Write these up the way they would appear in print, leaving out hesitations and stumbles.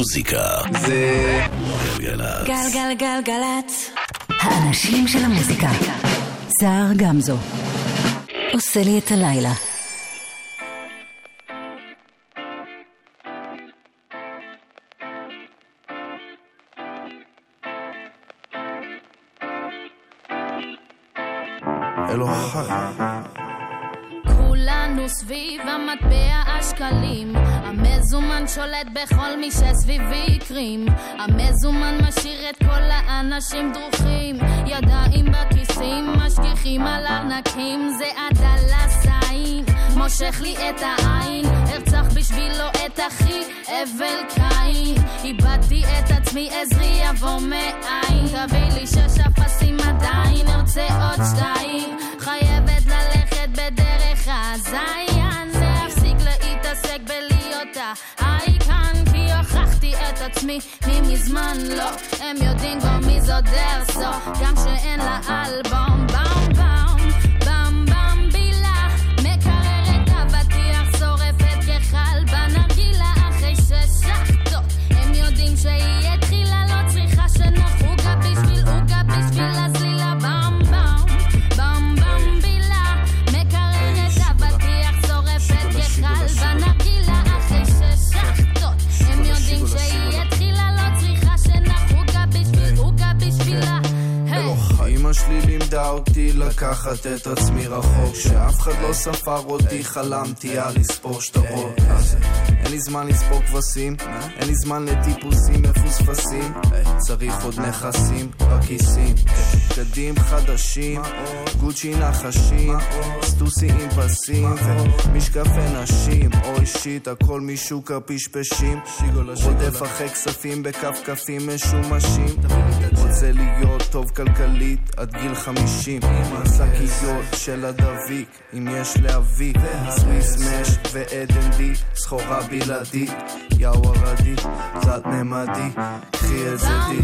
המוזיקה זה גלגלצ. גלגלגלגלצ. האנשים של המוזיקה. סער גמזו עושה לי את הלילה. כולנו סביב המטבע השקלים, המזומן שולט בכל מי שסביבי יקרים, המזומן משאיר את כל האנשים דרוכים, ידיים בכיסים משגיחים על ארנקים, זה הדלסיים מושך לי את העין, הרצח בשבילו את אחי אבל קין, איבדתי את עצמי עזרי יבוא מאין, תביא לי 6 אפסים עדיין ארצה עוד 2, חייבת ללכת בדרך הזיין, להפסיק להתעסק בלהיות האייקן, כי הוכחתי את עצמי ממזמן לא, הם יודעים כבר מי זו דרסו, גם שאין לה אלבום, באום באום באום באום בילה, מקררת אבטיח שורפת כחל בנרגילה אחרי 6 שחטות, הם יודעים שהיא התחילה, לא צריכה שנוחוגה בשביל אוגה בשביל הסלילה, באום באום באום באום בילה, מקררת אבטיח שורפת כחל בנרגילה אחרי 6 שחטות, הם יודעים שהיא התחילה, לא צריכה שנחוגה בשביל אוגה בשבילה. אמא שלי לימדה אותי לקחת את עצמי רחוק, שאף אחד לא ספר אותי, חלמתי על לספור שטרות, אין לי זמן לספור כבשים, אין לי זמן לטיפוסים מפוספסים, צריך עוד נכסים בכיסים, בגדים חדשים, גוצ'י נחשים, סטוסי עם פסים ומשקפי נשים, אוי שיט הכל משוק הפשפשים, רודף אחרי כספים בכפכפים משומשים, רוצה להיות טוב כלכלית עד גיל 50, השקיות של הדביק אם יש להביא, סוויס מש ועדן די, סחורה בלעדית, יאו הרדית, תלת ממדי, קחי את זה די.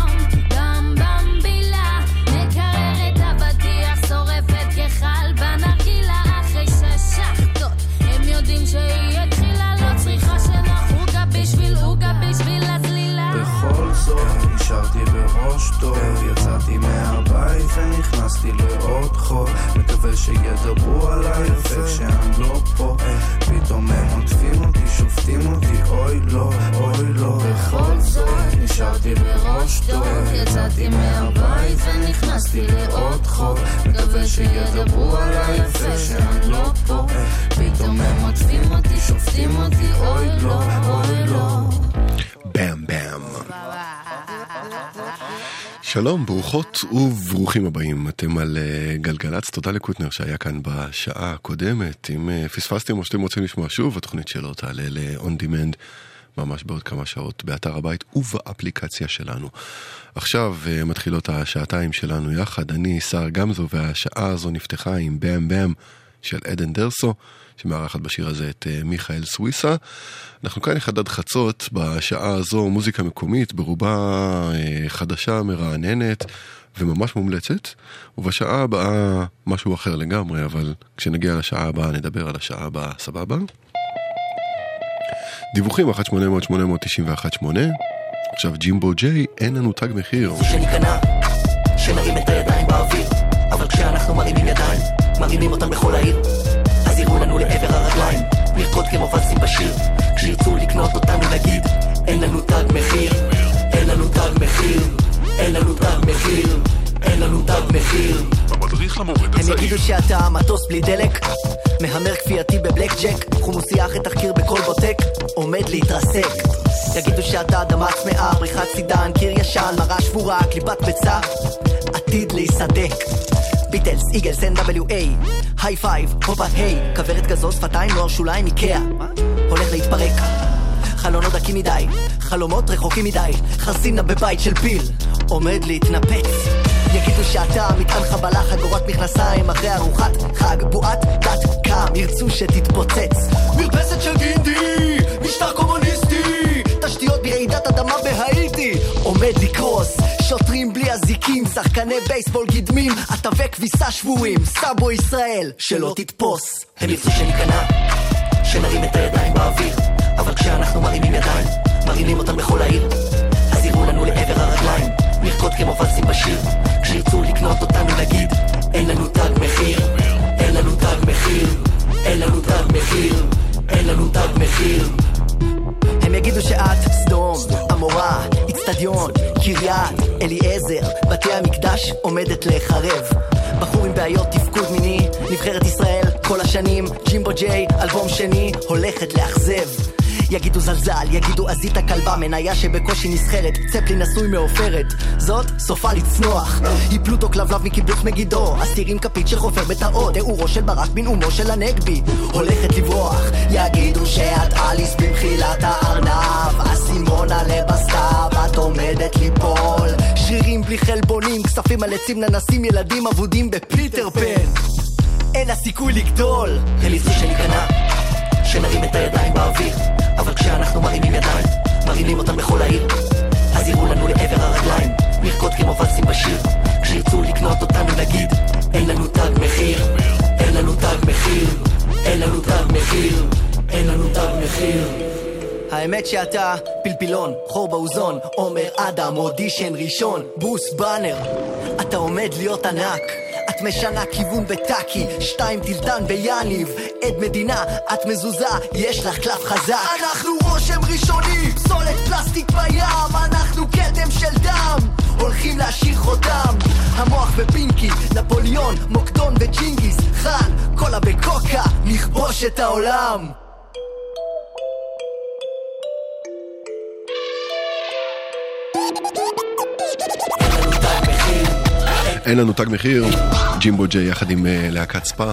באם באם בילה, מקררת אבטיח שורפת כחל בנרגילה אחרי 6 שחטות, הם יודעים שהיא התחילה, לא צריכה שנחוגה בשביל אוגה בשביל הסלילה. בכל זאת נשארתי בראש טוב, יצאתי מהבית ונכנסתי לעוד חוב, מקווה שידברו עליי יפה כשאני לא פה, פתאום הם עוטפים אותי, שופטים אותי, אוי לא, אוי לא. בכל זאת נשארתי בראש טוב, יצאתי מהבית ונכנסתי לעוד חוב, מקווה שידברו עליי יפה כשאני לא פה, פתאום הם עוטפים אותי, שופטים אותי, אוי לא, אוי לא. באם באם. שלום, ברוכות וברוכים הבאים, אתם על גלגלצ, תודה לקוטנר שהיה כאן בשעה הקודמת, אם פספסתם או שאתם רוצים לשמוע שוב, התוכנית שלו תעלה ל-on demand ממש בעוד כמה שעות באתר הבית ובאפליקציה שלנו. עכשיו מתחילות השעתיים שלנו יחד, אני סער גמזו, והשעה הזו נפתחה עם באם באם של עדן דרסו, שמארחת בשיר הזה את מיכאל סוויסה. אנחנו כאן אחד חצות, בשעה הזו מוזיקה מקומית, ברובה חדשה, מרעננת וממש מומלצת, ובשעה הבאה משהו אחר לגמרי, אבל כשנגיע לשעה הבאה נדבר על השעה הבאה, סבבה? דיווחים 1-800-891-8. עכשיו ג'ימבו ג'יי, אין לנו תג מחיר. שניכנע, שנרים את הידיים באוויר, אבל כשאנחנו מרימים ידיים, מרימים אותם בכל העיר, אז יראו לנו לעבר הרגליים, נרקוד כמו וסים בשיר, כשירצו לקנות אותנו נגיד, אין לנו תג מחיר, אין לנו תג מחיר, אין לנו תג מחיר, אין לנו תג מחיר. המדריך למורד הצעיר. הם יגידו שאתה מטוס בלי דלק, מהמר כפייתי בבלק ג'ק, חומוסי אחרי תחקיר בכל בוטק, עומד להתרסק. יגידו שאתה אדמה צמאה, בריחת סידן, קיר ישן, מראה שבורה, קליפת ביצה, עתיד להיסדק. ביטלס, איגלס, NWA, היי פייב, הופה היי, כברת גזו, שפתיים, נוער שוליים, איקאה, הולך להתפרק. חלונות דקים מדי, חלומות רחוקים מדי, חרסינה בבית של פיל, עומד להתנפץ. יגידו שאתה מטען חבלה, חגורת מכנסיים, אחרי ארוחת חג, בועת דת קם, ירצו שתתפוצץ. מרפסת של גינדי, משטר קומוניסטי, תשתיות ברעידת אדמה בהאיטי, עומד לקרוס. שוטרים בלי הזיקים, שחקני בייסבול גדמים, עטבי כביסה שבורים, סאבו ישראל, שלא תתפוס. הם ירצו שניכנע, שנרים את הידיים באוויר, אבל כשאנחנו מרימים ידיים, מרימים אותם בכל העיר, אז יראו לנו לעבר הרגליים, נרקוד כמו ולסים בשיר, כשירצו לקנות אותנו נגיד, אין לנו תג מחיר, אין לנו תג מחיר, אין לנו תג מחיר, אין לנו תג מחיר. הם יגידו שאת סדום, אמורה, אצטדיון, קריית, אליעזר, בתי המקדש עומדת לחרב. בחור עם בעיות תפקוד מיני, נבחרת ישראל כל השנים, ג'ימבו ג'יי, אלבום שני, הולכת לאכזב. יגידו זלזל, יגידו עזית הכלבה, מניה שבקושי נסחרת, צפלי נשוי מעופרת, זאת סופה לצנוח, היא פלוטו כלבלב מקיבוץ מגידו, אסירים כפית של חופר בתאות, תיאורו של ברק בנאומו של הנגבי, הולכת לברוח. יגידו שאת אליס במחילת הארנב, הסימונה לבסתיו, את עומדת ליפול, שרירים בלי חלבונים, כספים על עצים ננסים, ילדים אבודים בפיטר פן, אין הסיכוי לגדול. הם יצאו שניכנע, שנרים את הידיים באוויר, אבל כשאנחנו מרימים ידיים, מרימים אותם בכל העיר, אז יראו לנו לעבר הרגליים, נרקוד כמו ולסים בשיר, כשירצו לקנות אותנו נגיד, אין לנו תג מחיר, אין לנו תג מחיר, אין לנו תג מחיר, אין לנו תג מחיר. האמת שאתה פלפילון, חור באוזון, עומר אדם, אודישן ראשון, בוס בנר, אתה עומד להיות ענק, את משנה כיוון בטאקי, 2 טילטן ביאניב, עד מדינה, את מזוזה, יש לך קלף חזק. אנחנו רושם ראשוני, פסולת פלסטיק בים, אנחנו קדם של דם, הולכים להשאיר חותם, המוח בפינקי, נפוליון, מוקדון וג'ינגיס חאן, קולה בקוקה, נכבוש את העולם. אין לנו תג מחיר, ג'ימבו ג'יי יחד עם להקת ספה,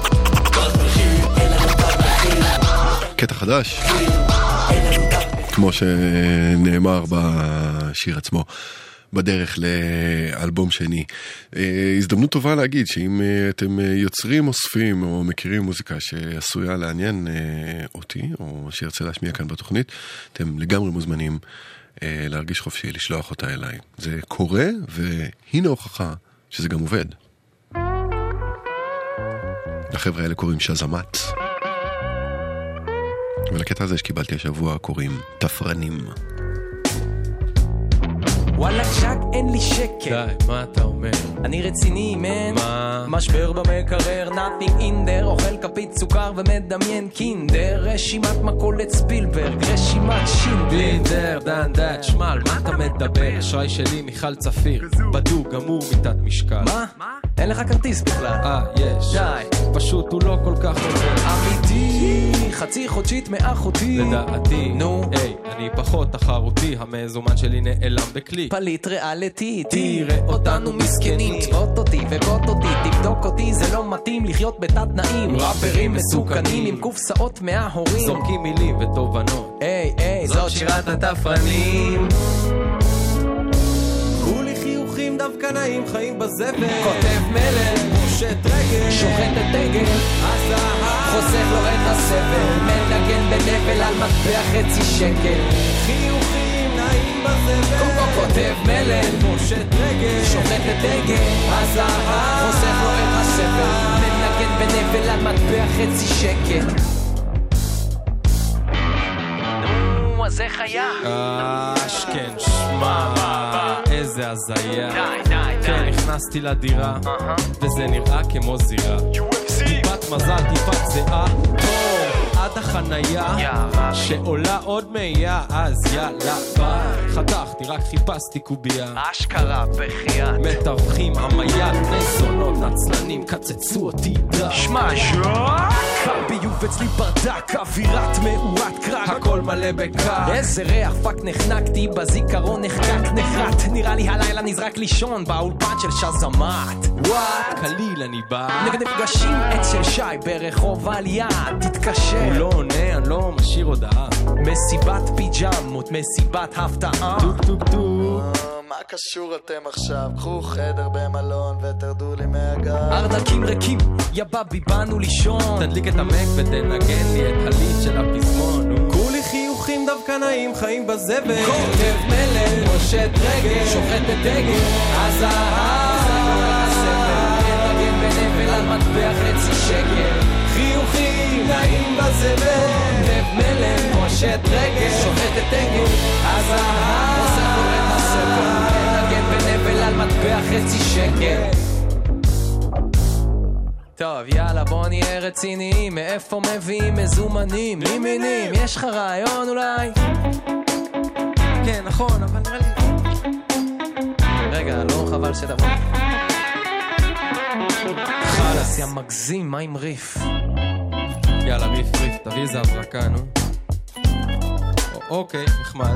קטע חדש כמו שנאמר בשיר עצמו, בדרך לאלבום שני. הזדמנות טובה להגיד שאם אתם יוצרים, אוספים או מכירים מוזיקה שעשויה לעניין אותי או שירצה להשמיע כאן בתוכנית, אתם לגמרי מוזמנים להרגיש חופשי לשלוח אותה אליי. זה קורה והנה הוכחה שזה גם עובד. לחבר'ה האלה קוראים שזמת, ולקטע הזה שקיבלתי השבוע קוראים תפרנים. וואלה צ'ק אין לי שקל. די, מה אתה אומר? אני רציני מן. מה? משבר במקרר, nothing in there, אוכל כפית סוכר ומדמיין קינדר, רשימת מקולת ספילברג, רשימת שינדלר, דן דאט, שמל, מה אתה מדבר? אשראי שלי מיכל צפיר, בדוק, גמור מיטת משקל. מה? אין לך כרטיס בכלל. יש. די. פשוט הוא לא כל כך עובד. אמיתי, חצי חודשית מאחותי. לדעתי. נו. היי, אני פחות תחרותי, המזומן שלי נעלם בקליק. פליט ריאליטי, תראה אותנו מסכנים, תבוט אותי ובוט אותי, תבדוק אותי, זה לא מתאים לחיות בתת תנאים, ראפרים מסוכנים עם קופסאות מההורים, זורקים מילים ותובנות. היי, זאת שירת התפרנים. כולי חיוכים דווקא נעים, חיים בזבל, כותב מלך, פושט רגל, שוחט את דגל, חוסך לו את הסבל, מנגן בנבל על מטבע חצי שקל, חיוכים נעים בזבל, קוקו כותב מלך, פושט רגל, שוחט את דגל, חוסך לו את הסבל, מנגן בנבל על מטבע חצי שקל. נו, אז איך היה? כן, שמע, איזה הזיה. כן, נכנסתי לדירה וזה נראה כמו זירה, טיפת מזל, טיפת זהה, עד החנייה שעולה עוד מאיה, אז יאללה ביי, חתכתי, רק חיפשתי קוביה, אשכרה בחיית מתווכים עמיה, בני זונות נצלנים קצצו אותי דה, שמע קר ביוב אצלי ברדק, אווירת מאורת קרק, הכל מלא בקר, איזה ריח פאק נחנקתי בזיכרון, נחקק נחרט, נראה לי הלילה נזרק לישון באולפן של שזמת. וואט קליל אני בא נגד נפגשים עץ של שי ברחוב על יד, תתקשר, הוא לא עונה, אני לא משאיר הודעה, מסיבת פיג'מות, מסיבת הפתעה, טוק טוק טוק, מה קשור אתם עכשיו? קחו חדר במלון ותרדו לי מהגב. ארנקים ריקים, יא בבי באנו לישון, תדליק את המק ותנגן לי את הליט של הפזמון. כולי חיוכים דווקא נעים, חיים בזבל, כותב מלך, פושט רגל, שוחט את דגל, הזהב, מנגן בנבל על מטבע חצי שקל, חיוכים נעים בזבל, כותב מלן, פושט רגל, שוחט את אגל, הזהב עושה לו את הספר, מנגן בנבל על מטבע חצי שקל. טוב, יאללה, בוא נהיה רציניים, מאיפה מביאים מזומנים? לימינים, יש לך רעיון אולי? כן, נכון, אבל נראה לי... רגע, לא חבל שתבוא. חלס, יא מגזים, מה עם ריף? יאללה, ריף, תביא איזה הברקה, נו. אוקיי, נחמד.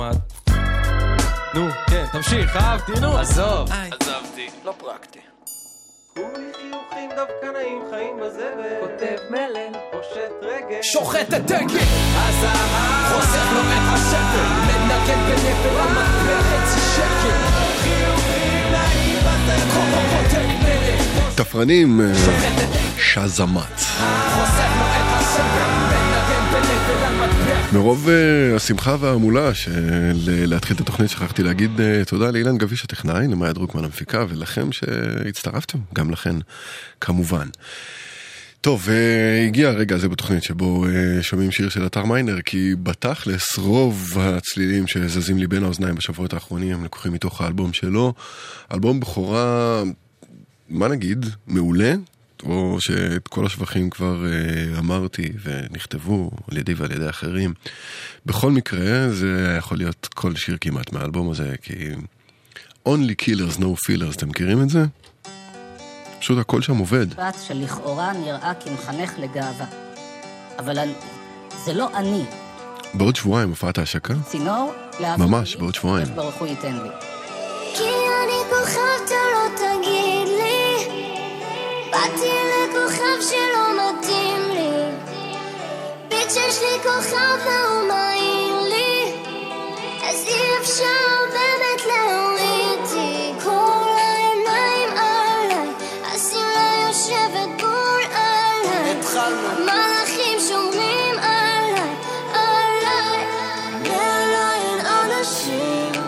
נו, כן, תמשיך, אהבתי, נו. עזוב. עזבתי. לא פרקטי. כולי חיוכים דווקא נעים חיים בזבל, כותב מלן, פושט רגל, שוחט את דגל, הזהב חוסך לו את השפל, מנגן בנבל על מטבע חצי שקל, חיוכים נעים בזבל, כותב מלן, תפרנים שזמת. חוסך לו את השפל, מנגן בנבל על מטבע. מרוב השמחה והמולה של להתחיל את התוכנית שכחתי להגיד תודה לאילן גביש הטכנאי, למאיה דרוקמן המפיקה ולכם שהצטרפתם, גם לכן כמובן. טוב, הגיע הרגע הזה בתוכנית שבו שומעים שיר של אתר מיינר, כי בתכלס רוב הצלילים שזזים לי בין האוזניים בשבועות האחרונים הם לקוחים מתוך האלבום שלו, אלבום בחורה, מה נגיד, מעולה, או שאת כל השבחים כבר אמרתי ונכתבו על ידי ועל ידי אחרים. בכל מקרה זה יכול להיות כל שיר כמעט מהאלבום הזה, כי Only Killers No Fillers, אתם מכירים את זה? פשוט הכל שם עובד. בת שלכאורה נראה כמחנך לגאווה, אבל זה לא אני. בעוד שבועיים הופעת ההשקה? צינור? ממש, בעוד שבועיים. ברוך הוא ייתן לי. כי אני כוכב אתה לא תגיד לי, באתי לכוכב שלא מתאים לי, ביט שיש לי כוכב והוא מעיר לי, אז אי אפשר באמת להורידי כל העיניים עליי, השמלה יושבת בול עליי, המלאכים שומרים עליי, עליי, מעליי אין אנשים,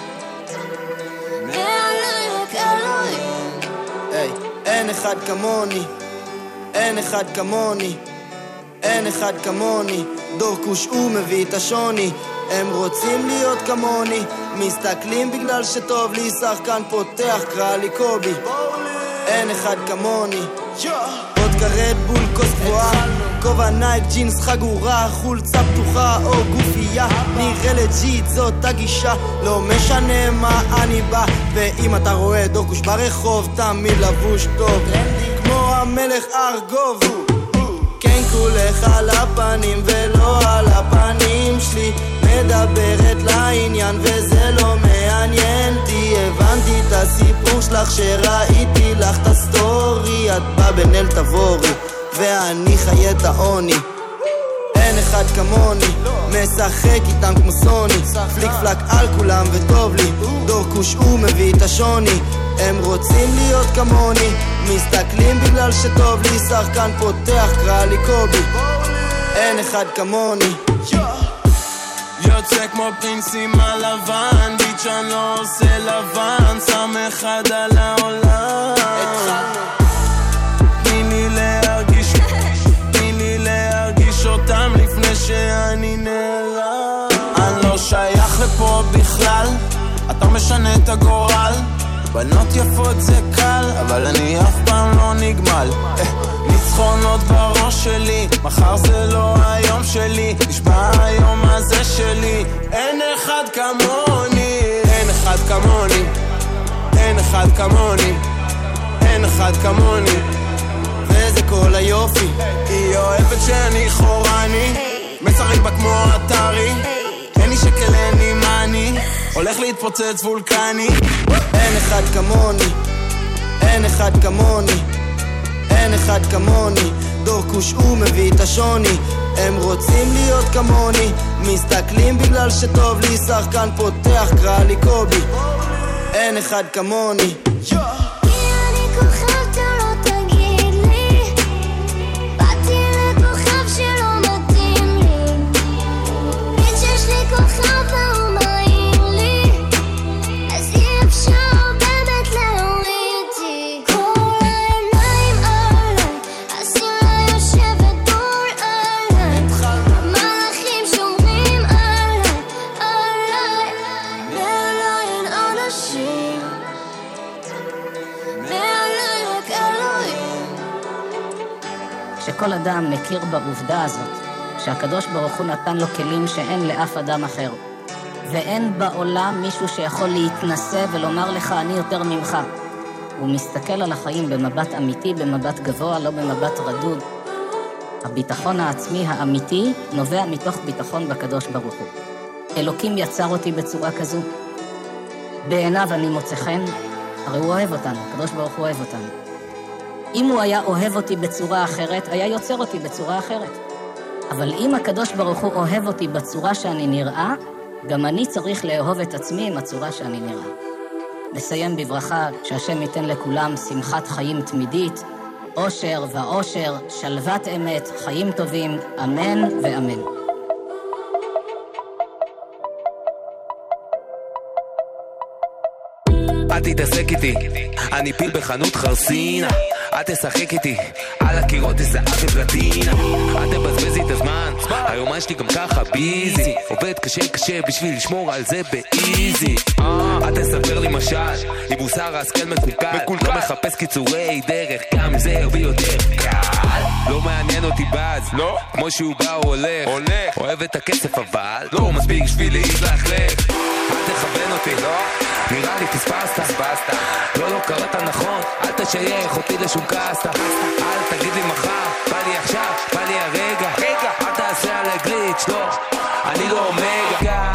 מעליי רק אלוהים. אין אחד כמוני, אין אחד כמוני, אין אחד כמוני, דורקוש הוא מביא את השוני, הם רוצים להיות כמוני, מסתכלים בגלל שטוב לי, שחקן פותח קרא לי קובי, אין אחד כמוני, עוד קרד בול כוס גבוהה, כובע נייק ג'ינס חגורה, חולצה פתוחה או גופייה, נראה לג'יט זאת הגישה, לא משנה מה אני בא, ואם אתה רואה דורקוש ברחוב תמיד לבוש טוב, כמו המלך ארגוב, כן כולך על הפנים ולא על הפנים שלי, מדברת לעניין וזה לא מעניין אותי, הבנתי את הסיפור שלך שראיתי לך את הסטורי, את בא בנל תבורי ואני חי את העוני, אין אחד כמוני, משחק איתם כמו סוני, פליק פלק על כולם וטוב לי, דורקוש הוא מביא את השוני, הם רוצים להיות כמוני, מסתכלים בגלל שטוב לי, שחקן פותח קרא לי קובי, אין אחד כמוני, יוצא כמו פרינסים הלבן, ביץ' אני לא עושה לבן, שם אחד על העולם, תני לי להרגיש אותם לפני שאני נעלם, אני לא שייך לפה בכלל, אתה משנה את הגורל, בנות יפות זה קל, אבל אני אף פעם לא נגמל, ניצחונות בראש שלי, מחר זה לא היום שלי, נשבע היום הזה שלי, אין אחד כמוני, אין אחד כמוני, אין אחד כמוני, אין אחד כמוני, וזה כל היופי, היא אוהבת שאני חורני, משחק בה כמו אתרי, אין לי שקל אין לי מני, הולך להתפוצץ וולקני, אין אחד כמוני, אין אחד כמוני, אין אחד כמוני, דורקוש הוא מביא את השוני, הם רוצים להיות כמוני, מסתכלים בגלל שטוב לי, שחקן פותח קרא לי קובי, אין אחד כמוני, כל אדם מכיר בעובדה הזאת, שהקדוש ברוך הוא נתן לו כלים שאין לאף אדם אחר. ואין בעולם מישהו שיכול להתנסה ולומר לך, אני יותר ממך. הוא מסתכל על החיים במבט אמיתי, במבט גבוה, לא במבט רדוד. הביטחון העצמי האמיתי נובע מתוך ביטחון בקדוש ברוך הוא. אלוקים יצר אותי בצורה כזו. בעיניו אני מוצא חן, הרי הוא אוהב אותנו, הקדוש ברוך הוא אוהב אותנו. אם הוא היה אוהב אותי בצורה אחרת, היה יוצר אותי בצורה אחרת. אבל אם הקדוש ברוך הוא אוהב אותי בצורה שאני נראה, גם אני צריך לאהוב את עצמי עם הצורה שאני נראה. נסיים בברכה שהשם ייתן לכולם שמחת חיים תמידית, אושר ואושר, שלוות אמת, חיים טובים, אמן ואמן. אל תתעסק איתי, אני פיל בחנות חרסינה. אל תשחק איתי, על הקירות איזה אף פלטינה. אל תבזבז לי את הזמן, היומן שלי גם ככה ביזי. עובד קשה בשביל לשמור על זה באיזי. אל תספר לי משל, עם מוסר השכל מקולקל. לא מחפש קיצורי דרך, גם זה הרבה יותר קל. לא מעניין אותי באז, כמו שהוא בא הוא הולך. אוהב את הכסף אבל לא מספיק בשביל להתלכלך. אל תכוון אותי, נראה לי פספסת. לא קראת נכון, אל תשייך אותי לשום קסטה. אל תגיד לי מחר, בא לי עכשיו, בא לי הרגע. אל תעשה על הגליץ', לא, אני לא אומגה.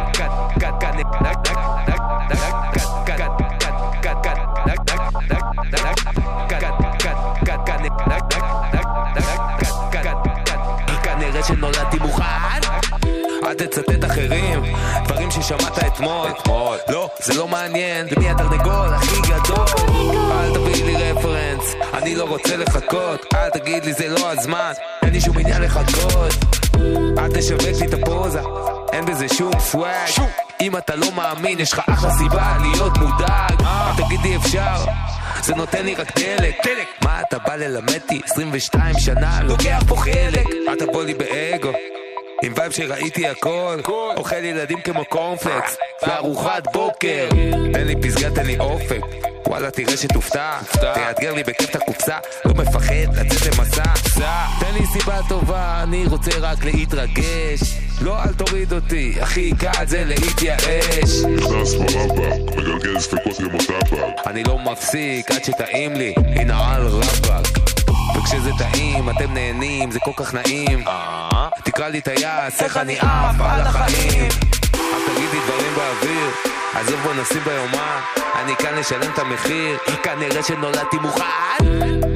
כנראה שנולדתי מוכן. אל תצטט אחרים, דברים ששמעת אתמול. לא, זה לא מעניין, למי התרנגול הכי גדול. אל תביא לי רפרנס, אני לא רוצה לחכות. אל תגיד לי זה לא הזמן, אין לי שום עניין לחכות. אל תשווק לי את הפוזה, אין בזה שום סוואג. אם אתה לא מאמין, יש לך אחלה סיבה להיות מודאג. אל תגיד לי אפשר, זה נותן לי רק דלק. מה אתה בא ללמדתי? 22 שנה, לוקח פה חלק. אל תבוא לי באגו עם וייב שראיתי הכל, אוכל ילדים כמו קורנפלקס לארוחת בוקר. תן לי פסגה, תן לי אופק, וואלה תראה שתופתע. תאתגר לי בכיף את הקופסה, לא מפחד לצאת למסע. תן לי סיבה טובה, אני רוצה רק להתרגש. לא אל תוריד אותי, הכי קל זה להתייאש. נכנס ברבק, מגלגל ספקות למוטבק. אני לא מפסיק עד שטעים לי, הנה על רבק. וכשזה טעים, אתם נהנים, זה כל כך נעים. תקרא לי טייס, איך אני אף על החיים. אל תגיד לי דברים באוויר, עזוב בוא נשים ביומן. אני כאן לשלם את המחיר, כנראה שנולדתי מוכן.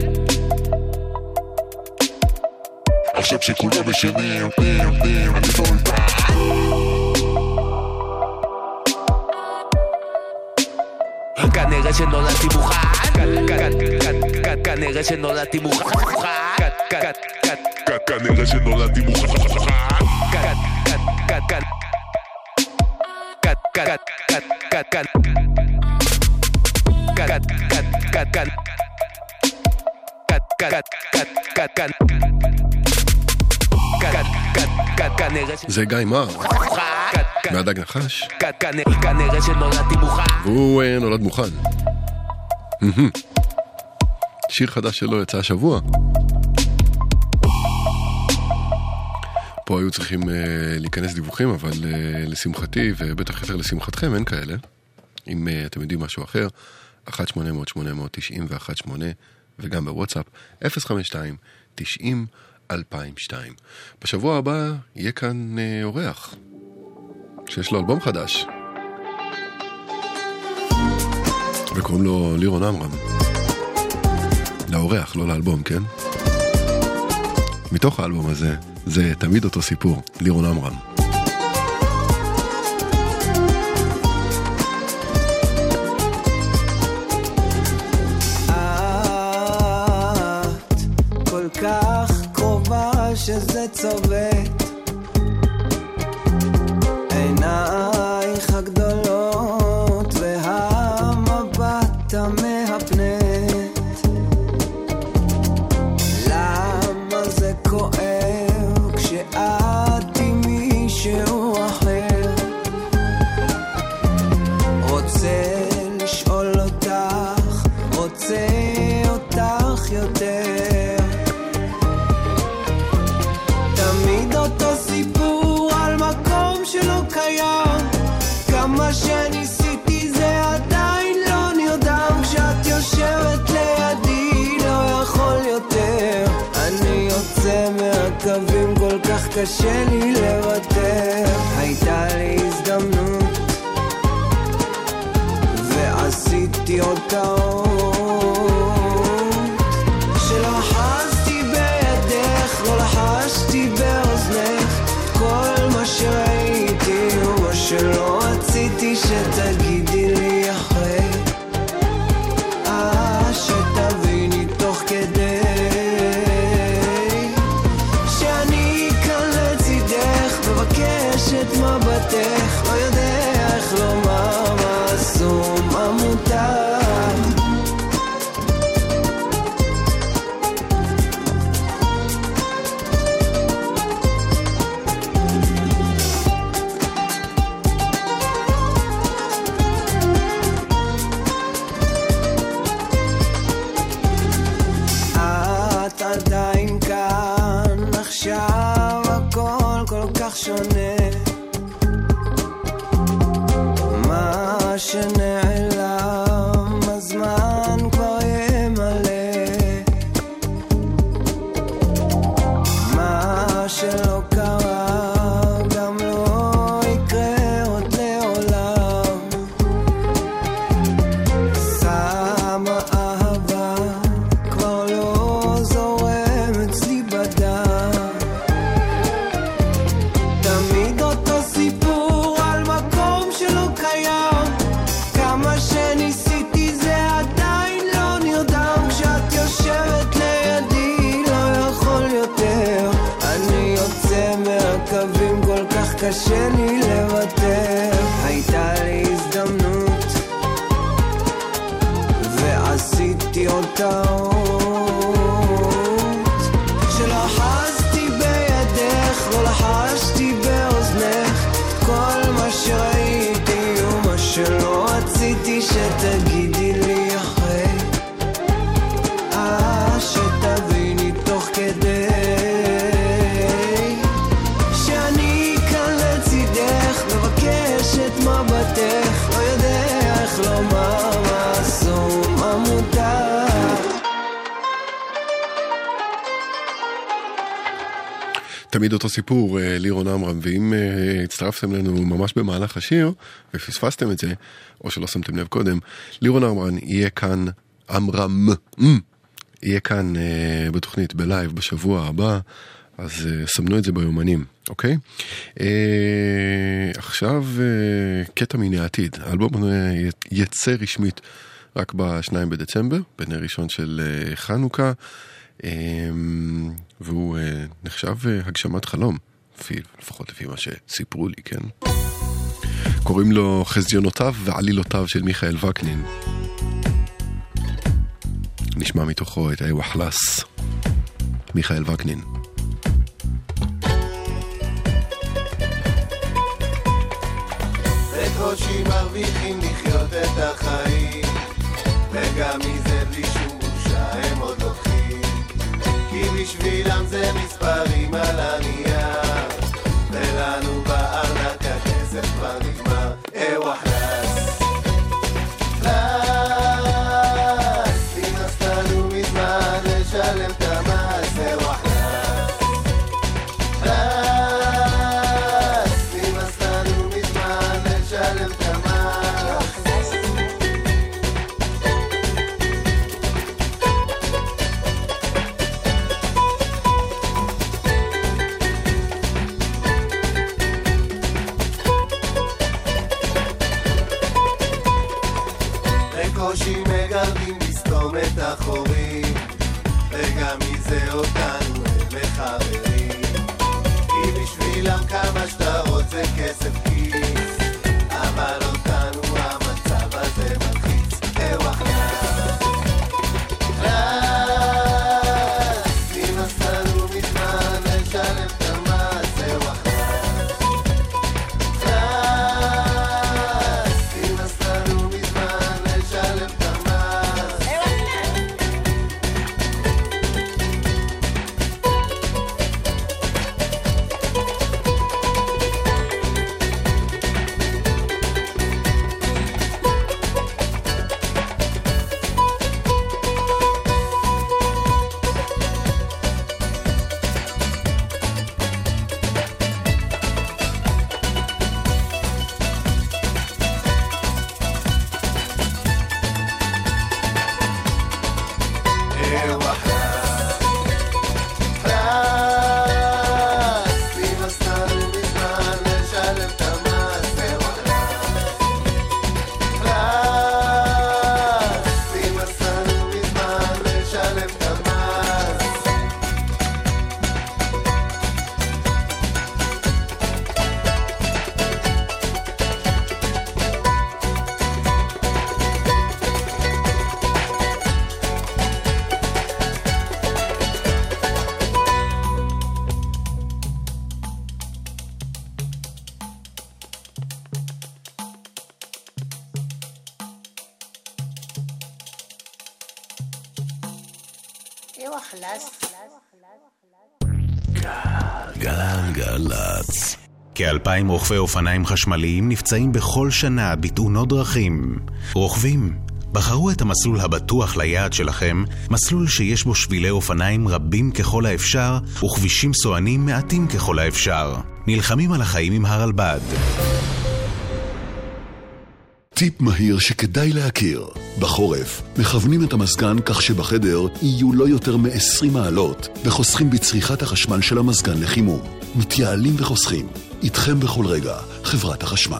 עכשיו שכולם משנים, אני באולפן. כנראה שנולדתי מוכן. כנראה שנולדתי מוכן. כנראה שנולדתי מוכן. זה גיא מר מהדג נחש, כנראה שנולדתי מוכן. והוא נולד מוכן. שיר חדש שלו יצא השבוע. פה היו צריכים להיכנס דיווחים, אבל לשמחתי ובטח יותר לשמחתכם אין כאלה. אם אתם יודעים משהו אחר, 1-800-890-118 וגם בוואטסאפ 052-90-2002. בשבוע הבא יהיה כאן אורח שיש לו אלבום חדש וקוראים לו לירון עמרם. לאורח, לא לאלבום, כן? מתוך האלבום הזה זה תמיד אותו סיפור, לירון עמרם. את כל כך קרובה שזה צובט, עינייך הגדולות והמבט המהפנט. למה זה כואב כשאת עם מישהו אחר? רוצה לשאול אותך, רוצה אותך יותר. קשה לי לוותר. הייתה לי הזדמנות ועשיתי אותה שלא חזתי בידך, לא לחשתי באוזנך כל מה שראיתי ומה שלא רציתי שתגידי לי אחרי, שתביני תוך כדי שאני כאן לצידך, מבקש את מבטך, לא יודע איך לומר מה אסור מה מותר. עדיין כאן עכשיו הכל כל כך שונה, מה שנעלם הזמן כבר ימלא, מה שלא קרה גם לא יקרה עוד לעולם, שמה אהבה כבר לא זורם אצלי בדם, תמיד אותו סיפור על מקום שלא קיים, כמה שניסיתי זה עדיין לא נרדם, כשאת יושבת לידי לא יכול יותר, אני יוצא מהקווים כל כך קשה לי לוותר. הייתה לי הזדמנות ועשיתי אותה שלא חזתי בידך, לא לחשתי באוזנך כל מה שראיתי ומה שלא רציתי שתגידי לי אחרי, שתביני תוך כדי שאני כאן לצידך, מבקש את מבטך, לא יודע איך לומר מה אסור מה מותר. תמיד אותו סיפור, לירון עמרם, ואם הצטרפתם לנו ממש במהלך השיר ופספסתם את זה, או שלא שמתם לב קודם, לירון עמרם יהיה כאן, יהיה כאן בתוכנית בלייב בשבוע הבא, אז סמנו את זה ביומנים, אוקיי? עכשיו קטע מן העתיד, האלבום יצא רשמית רק ב-2 בדצמבר, בנר ראשון של חנוכה, והוא נחשב הגשמת חלום, לפחות לפי מה שסיפרו לי, כן? קוראים לו חזיונותיו ועלילותיו של מיכאל וקנין. נשמע מתוכו את הווחלס, מיכאל וקנין. בקושי מרוויחים לחיות את החיים, וגם מזה בלי שום בושה הם עוד לוקחים, כי בשבילם זה מספרים על הנייר, ולנו בארנק הכסף כבר נגמר. ווחלס פלס, נמאסתנו מזמן לשלם את המס. ווחלס פלס, נמאסתנו מזמן לשלם את המס. בקושי מגרדים לסתום את החורים, וגם מזה אותנו הם מחברים, כי בשבילם כמה שאתה רוצה כסף כיס, אבל אותנו המצב הזה מלחיץ. ווחלס פלס, נמאסתנו מזמן לשלם את המס. ווחלס פלס, נמאסתנו מזמן לשלם את המס. גלגלצ. כ-2,000 רוכבי אופניים חשמליים נפצעים בכל שנה בתאונות דרכים. רוכבים, בחרו את המסלול הבטוח ליעד שלכם, מסלול שיש בו שבילי אופניים רבים ככל האפשר וכבישים סוענים מעטים ככל האפשר. נלחמים על החיים עם הרלב"ד. טיפ מהיר שכדאי להכיר. בחורף, מכוונים את המזגן כך שבחדר יהיו לא יותר מ-20 מעלות וחוסכים בצריכת החשמל של המזגן לחימום. מתייעלים וחוסכים. איתכם בכל רגע, חברת החשמל.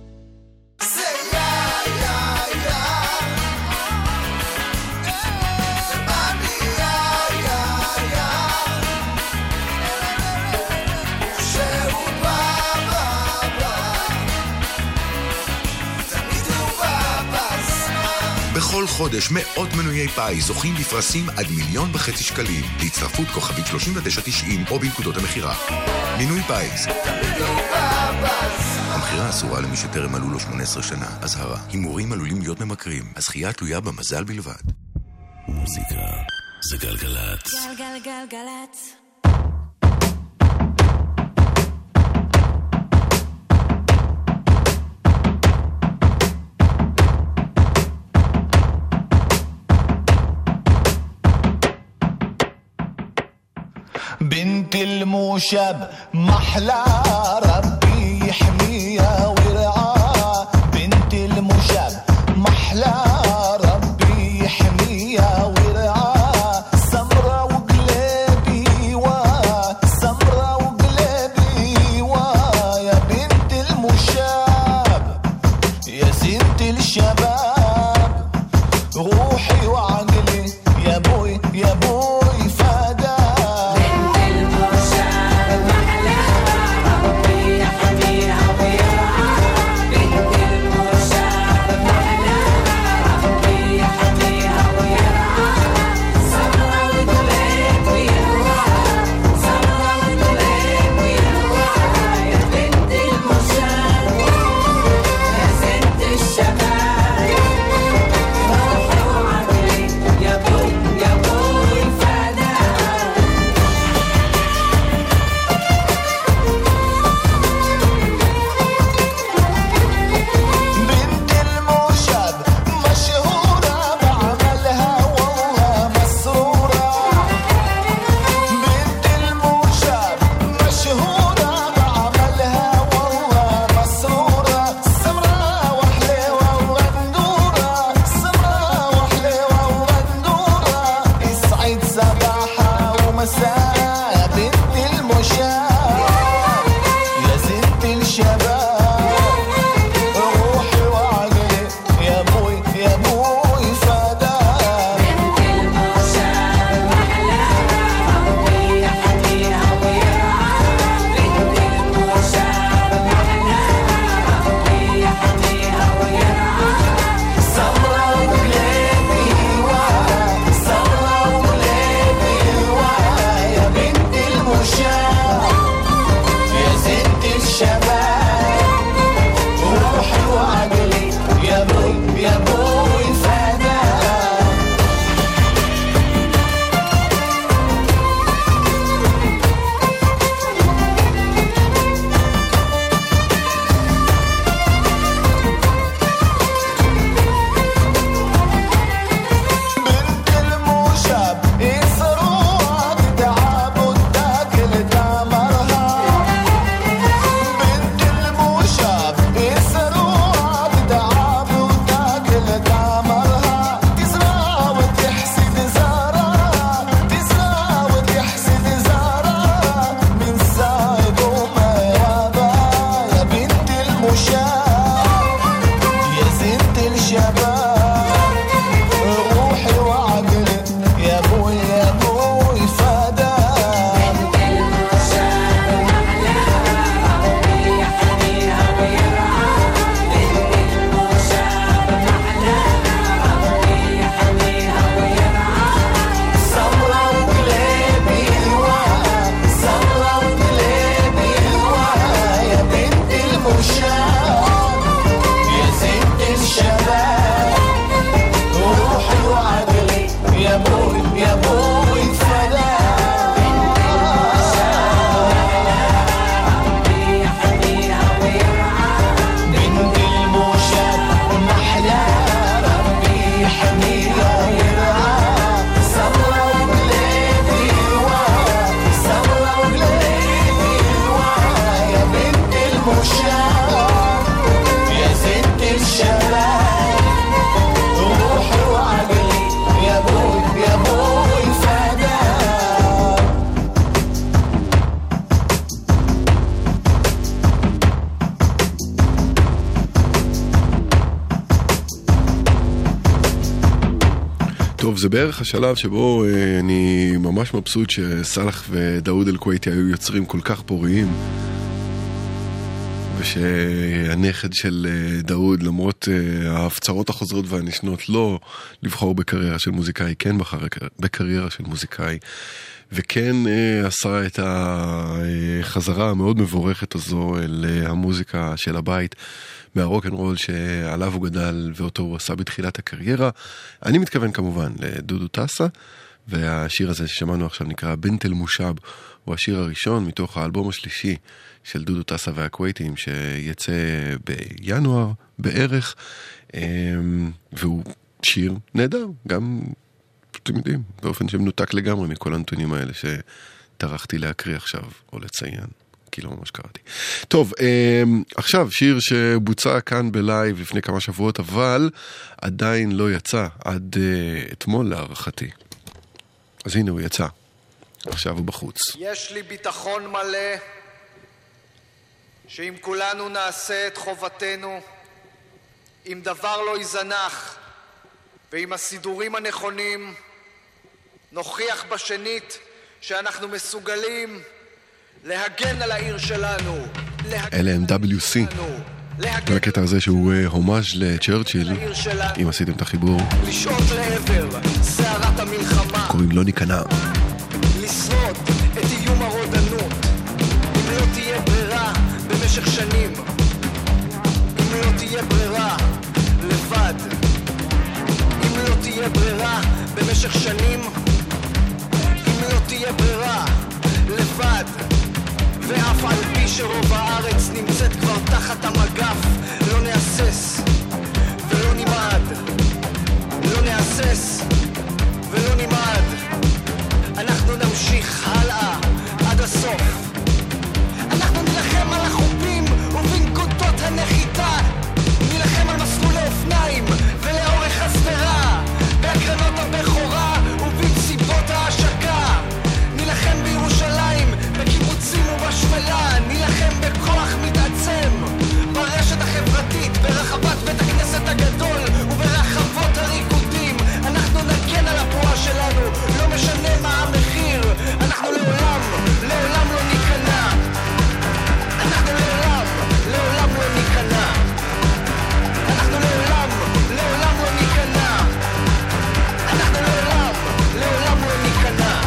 בכל חודש מאות מנויי פאי זוכים בפרסים עד 1.5 מיליון שקלים. להצטרפות כוכבית 3990 או בנקודות המחירה. מינוי פאיז. המחירה אסורה למי שטרם מלאו לו 18 שנה. אזהרה, הימורים עלולים להיות ממכרים. הזכייה תלויה במזל בלבד. מוזיקה זה גלגלצ. גלגלגלגלצ. بنت الموشب محلى ربي يحميها ويرعاها بنت الموشب محلى ربي يحميها ويرعاها سمرة وقلبي سمرة وقلبي يا بنت الموشب يا زينة الشباب روحي وعقلي يا بوي يا بوي فدا بنت الموشب محلى ربي يحميها טוב, זה בערך השלב שבו אני ממש מבסוט שסלח ודאוד אל-כוויתי היו יוצרים כל כך פוריים, ושהנכד של דאוד, למרות ההפצרות החוזרות והנשנות, לא לבחור בקריירה של מוזיקאי, כן בחר בקריירה של מוזיקאי, וכן עשה את החזרה המאוד מבורכת הזו אל המוזיקה של הבית, מהרוק אנד רול שעליו הוא גדל ואותו הוא עשה בתחילת הקריירה. אני מתכוון כמובן לדודו טסה, והשיר הזה ששמענו עכשיו נקרא בנט אל-מושב, הוא השיר הראשון מתוך האלבום השלישי של דודו טסה והכווייתים שיצא בינואר בערך, והוא שיר נהדר, גם אתם יודעים, באופן שמנותק לגמרי מכל הנתונים האלה שטרחתי להקריא עכשיו או לציין, כי לא ממש קראתי. טוב, עכשיו שיר שבוצע כאן בלייב לפני כמה שבועות, אבל עדיין לא יצא עד אתמול להערכתי. אז הנה הוא יצא, עכשיו הוא בחוץ. יש לי ביטחון מלא שאם כולנו נעשה את חובתנו, אם דבר לא יזנח ועם הסידורים הנכונים, נוכיח בשנית שאנחנו מסוגלים להגן על העיר שלנו. אלה הם WC, והקטע הזה שהוא הומאז' לצ'רצ'יל, אם עשיתם את החיבור, לשעות לעבר סערת המלחמה, קוראים לא ניכנע, לשרוד את איום הרודנות. אם לא תהיה ברירה במשך שנים, אם לא תהיה ברירה לבד, אם לא תהיה ברירה במשך שנים, אם לא תהיה ברירה לבד, ואף על פי שרוב הארץ נמצאת כבר תחת המגף, לא נאסס ולא נמעד, לא נאסס ולא נמעד. אנחנו נמשיך הלאה עד הסוף. אנחנו נלחם על החופים ובנקודות הנחיתה, נלחם על מסלולי אופניים ולאורך הסדרה, בהקרנות הבכורה ובמסיבות ההשקה, נלחם בירושלים, בקיבוצים ובשפלה, נלחם בכוח מתעצם ברשת החברתית, ברחבת בית הכנסת הגדול וברחבות הריקודים. אנחנו נגן על הפרועה שלנו, לא משנה מה המחיר. אנחנו לעולם, לעולם לא ניכנע. אנחנו לעולם, לעולם לא ניכנע. אנחנו לעולם, לעולם לא ניכנע. אנחנו לעולם, לעולם לא ניכנע.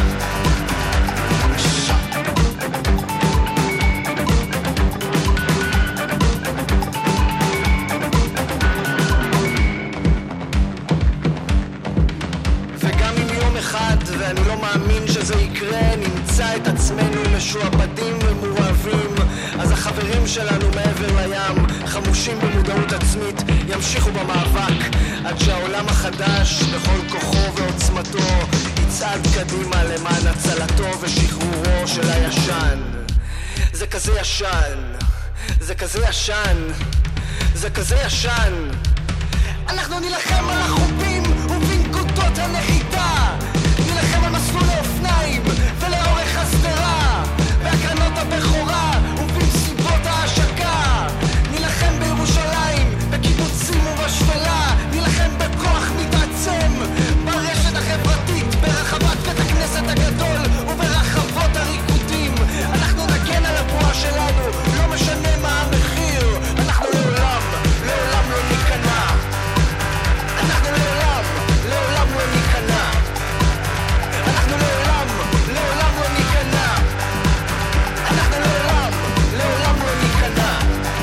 ואני לא מאמין שזה יקרה, נמצא את עצמנו משועבדים ומורעבים, אז החברים שלנו מעבר לים, חמושים במודעות עצמית, ימשיכו במאבק עד שהעולם החדש בכל כוחו ועוצמתו יצעד קדימה למען הצלתו ושחרורו של הישן. זה כזה ישן, זה כזה ישן, זה כזה ישן. אנחנו נלחם על החופים ובנקודות הנחיתה, נלחם על מסלולי אופניים ולאורך הסדרה, בהקרנות הבכורה ובמסיבות ההשקה, נלחם בירושלים, בקיבוצים ובשפלה, נלחם בכוח מתעצם ברשת החברתית, ברחבת בית הכנסת הגדול וברחבות הריקודים. אנחנו נגן על הפרועה שלנו, לא משנה מה המחיר. אנחנו לעולם, לעולם לא ניכנע. אנחנו לעולם, לעולם לא ניכנע. אנחנו לעולם, לעולם לא ניכנע. אנחנו לעולם, לעולם לא ניכנע.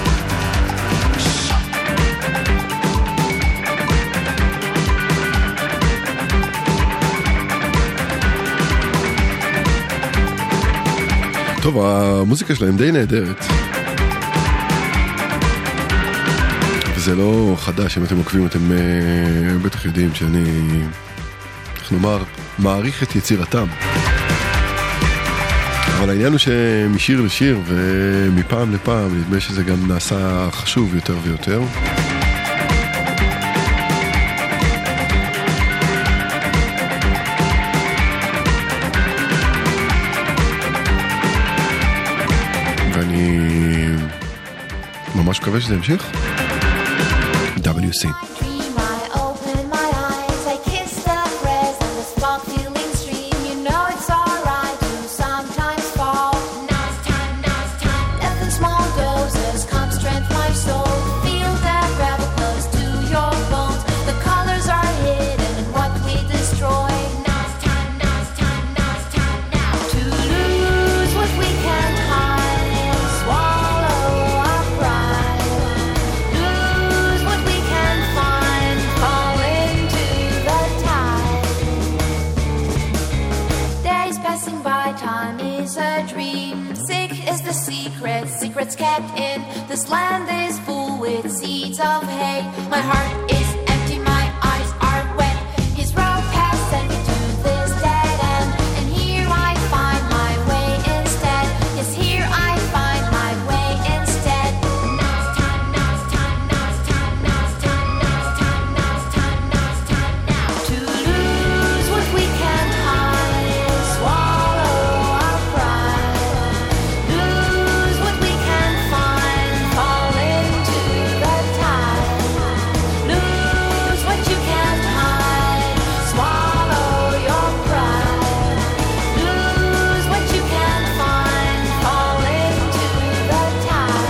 טוב, המוזיקה שלהם די נהדרת, וזה לא חדש. אם אתם עוקבים, אתם בטח יודעים שאני, איך נאמר, מעריך את יצירתם. אבל העניין הוא שמשיר לשיר ומפעם לפעם נדמה שזה גם נעשה חשוב יותר ויותר. ואני ממש מקווה שזה ימשיך. WC. This land is full with seeds of hay. My heart is empty, my eyes are wet. His rope has sent me to this dead end, and here I find my way instead. Yes, here I find my way instead. Now it's time, now it's time, now it's time, now it's time, now it's time, now it's time, now it's time now. To lose what we can't hide is swallow our pride. Lose what we can't find, fall into the tide. Lose what you can't hide, swallow your pride. Lose what you can't find, fall into the tide.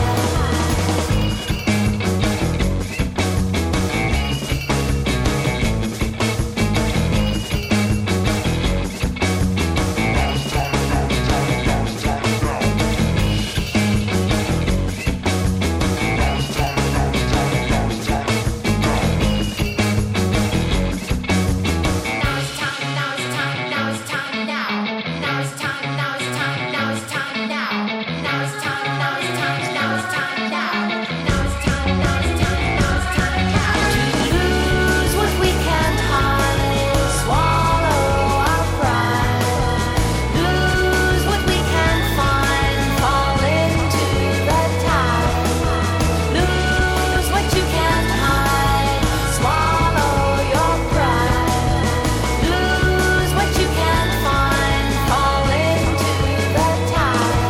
Lose what we can't hide is swallow our pride. Lose what we can't find, fall into the tide. Lose what you can't hide, swallow your pride. Lose what you can't find, fall into the tide.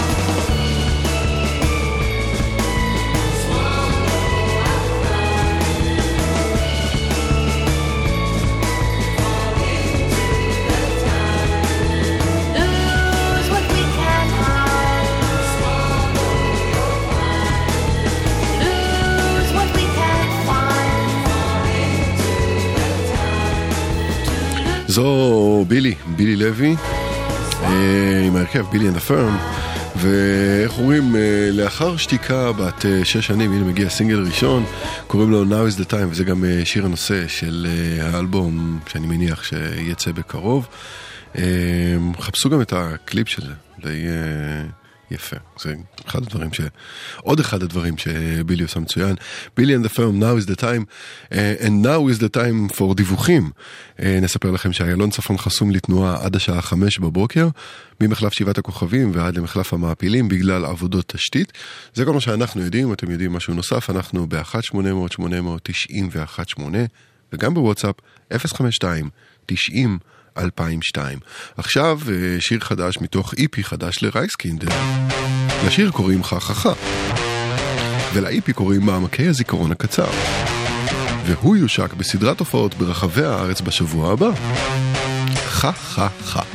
Lose what we can't hide, swallow your pride. Lose what we can't find, fall into the tide. זו בילי לוי, עם ההרכב בילי and the firm, ואיך אומרים, לאחר שתיקה בת 6 שנים, הנה מגיע סינגל ראשון, קוראים לו Now is the time, וזה גם שיר הנושא של האלבום שאני מניח שיצא בקרוב. חפשו גם את הקליפ של זה, די יפה. זה עוד אחד הדברים שבילי עושה מצוין. בילי and the firm, Now is the time, and now is the time for דיווחים. נספר לכם שהיילון צפון חסום לתנועה עד השעה 5 בבוקר, ממחלף 7 הכוכבים ועד למחלף המעפילים בגלל עבודות תשתית. זה כל מה שאנחנו יודעים. אתם יודעים משהו נוסף, אנחנו ב-1-800-890-118 וגם בוואטסאפ 052-90-2002. עכשיו שיר חדש מתוך איפי חדש לרייסקינדר. לשיר קוראים חככה, ולאיפי קוראים מעמקי הזיכרון הקצר, והוא יושק בסדרת הופעות ברחבי הארץ בשבוע הבא. חככה.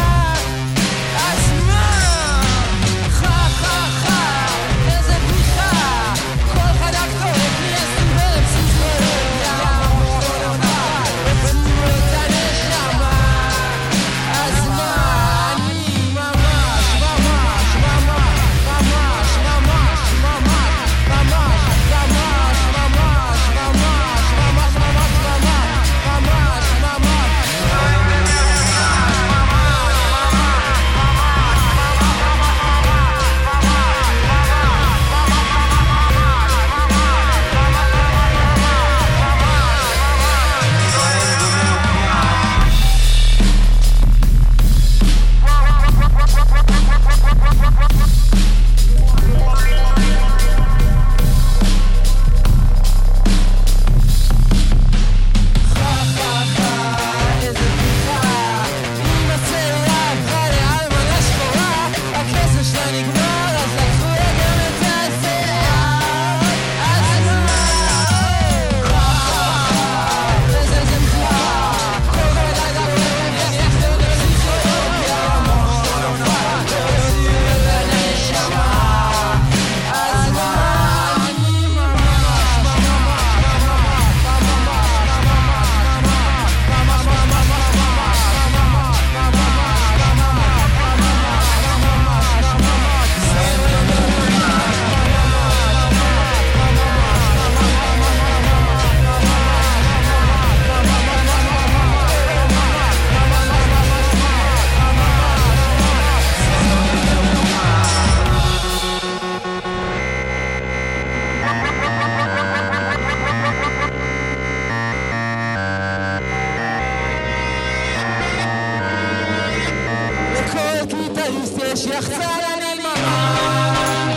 איזה בדיחה לפני שיחצה אני ממש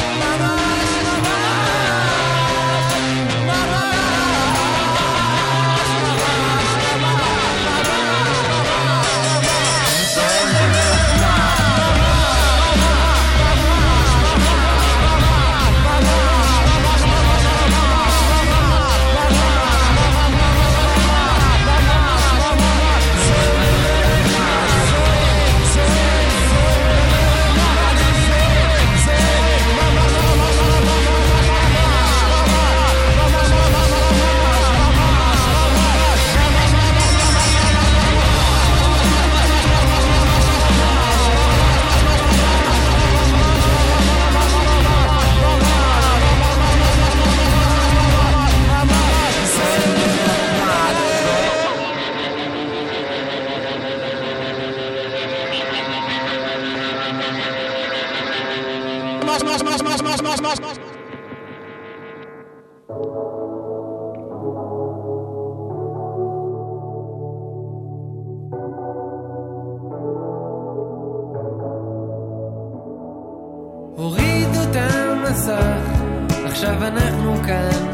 הורידו את המסך, עכשיו אנחנו כאן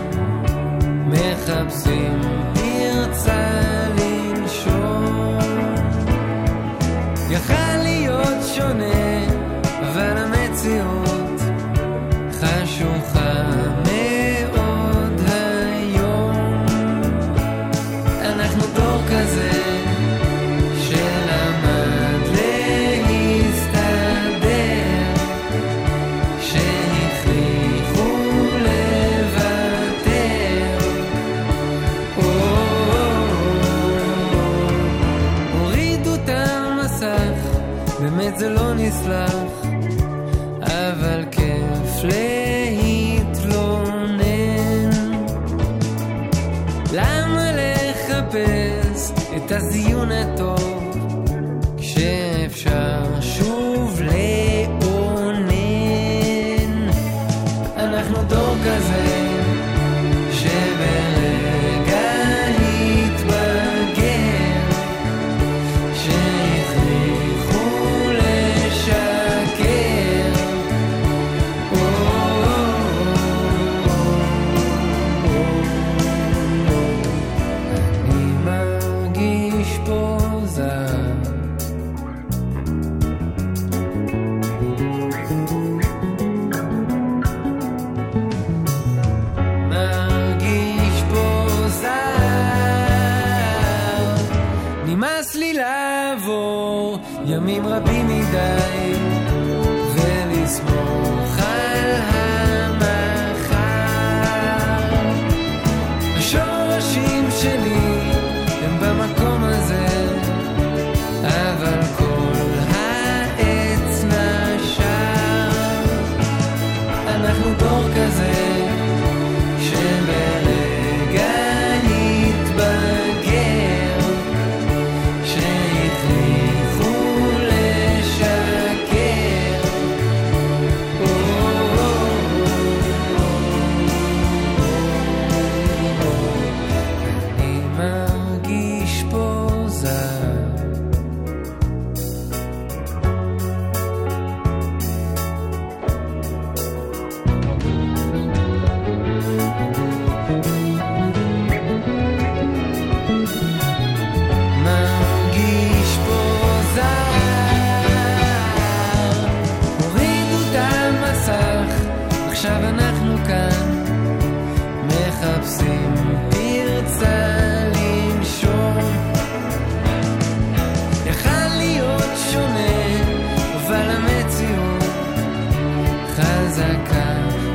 מחפשים פרצה לנשום. יכל להיות שונה, אבל המציאות חשוכה מאוד היום. אנחנו דור כזה שלמד להסתדר, שהכריחו לוותר. הורידו את המסך, באמת זה לא נסלח, אבל כיף להתלונן. למה לחפש את הזיון הטוב כשאפשר שוב לאונן? אנחנו דור כזה שברגע התבגר, שהכריחו לשקר. אני מרגיש פה זר, מרגיש פה זר. נמאס לי לעבור ימים רבים מדי ולסמוך על המחר. השורשים שלי הם במקום הזה, אבל כל העץ נשר. אנחנו דור כזה שברגע התבגר, שהכריחו לשקר. אני מרגיש פה זר. מרגיש פה זר. הורידו את המסך, עכשיו אנחנו כאן מחפשים פרצה לנשום. יכל להיות שונה, אבל המציאות חזקה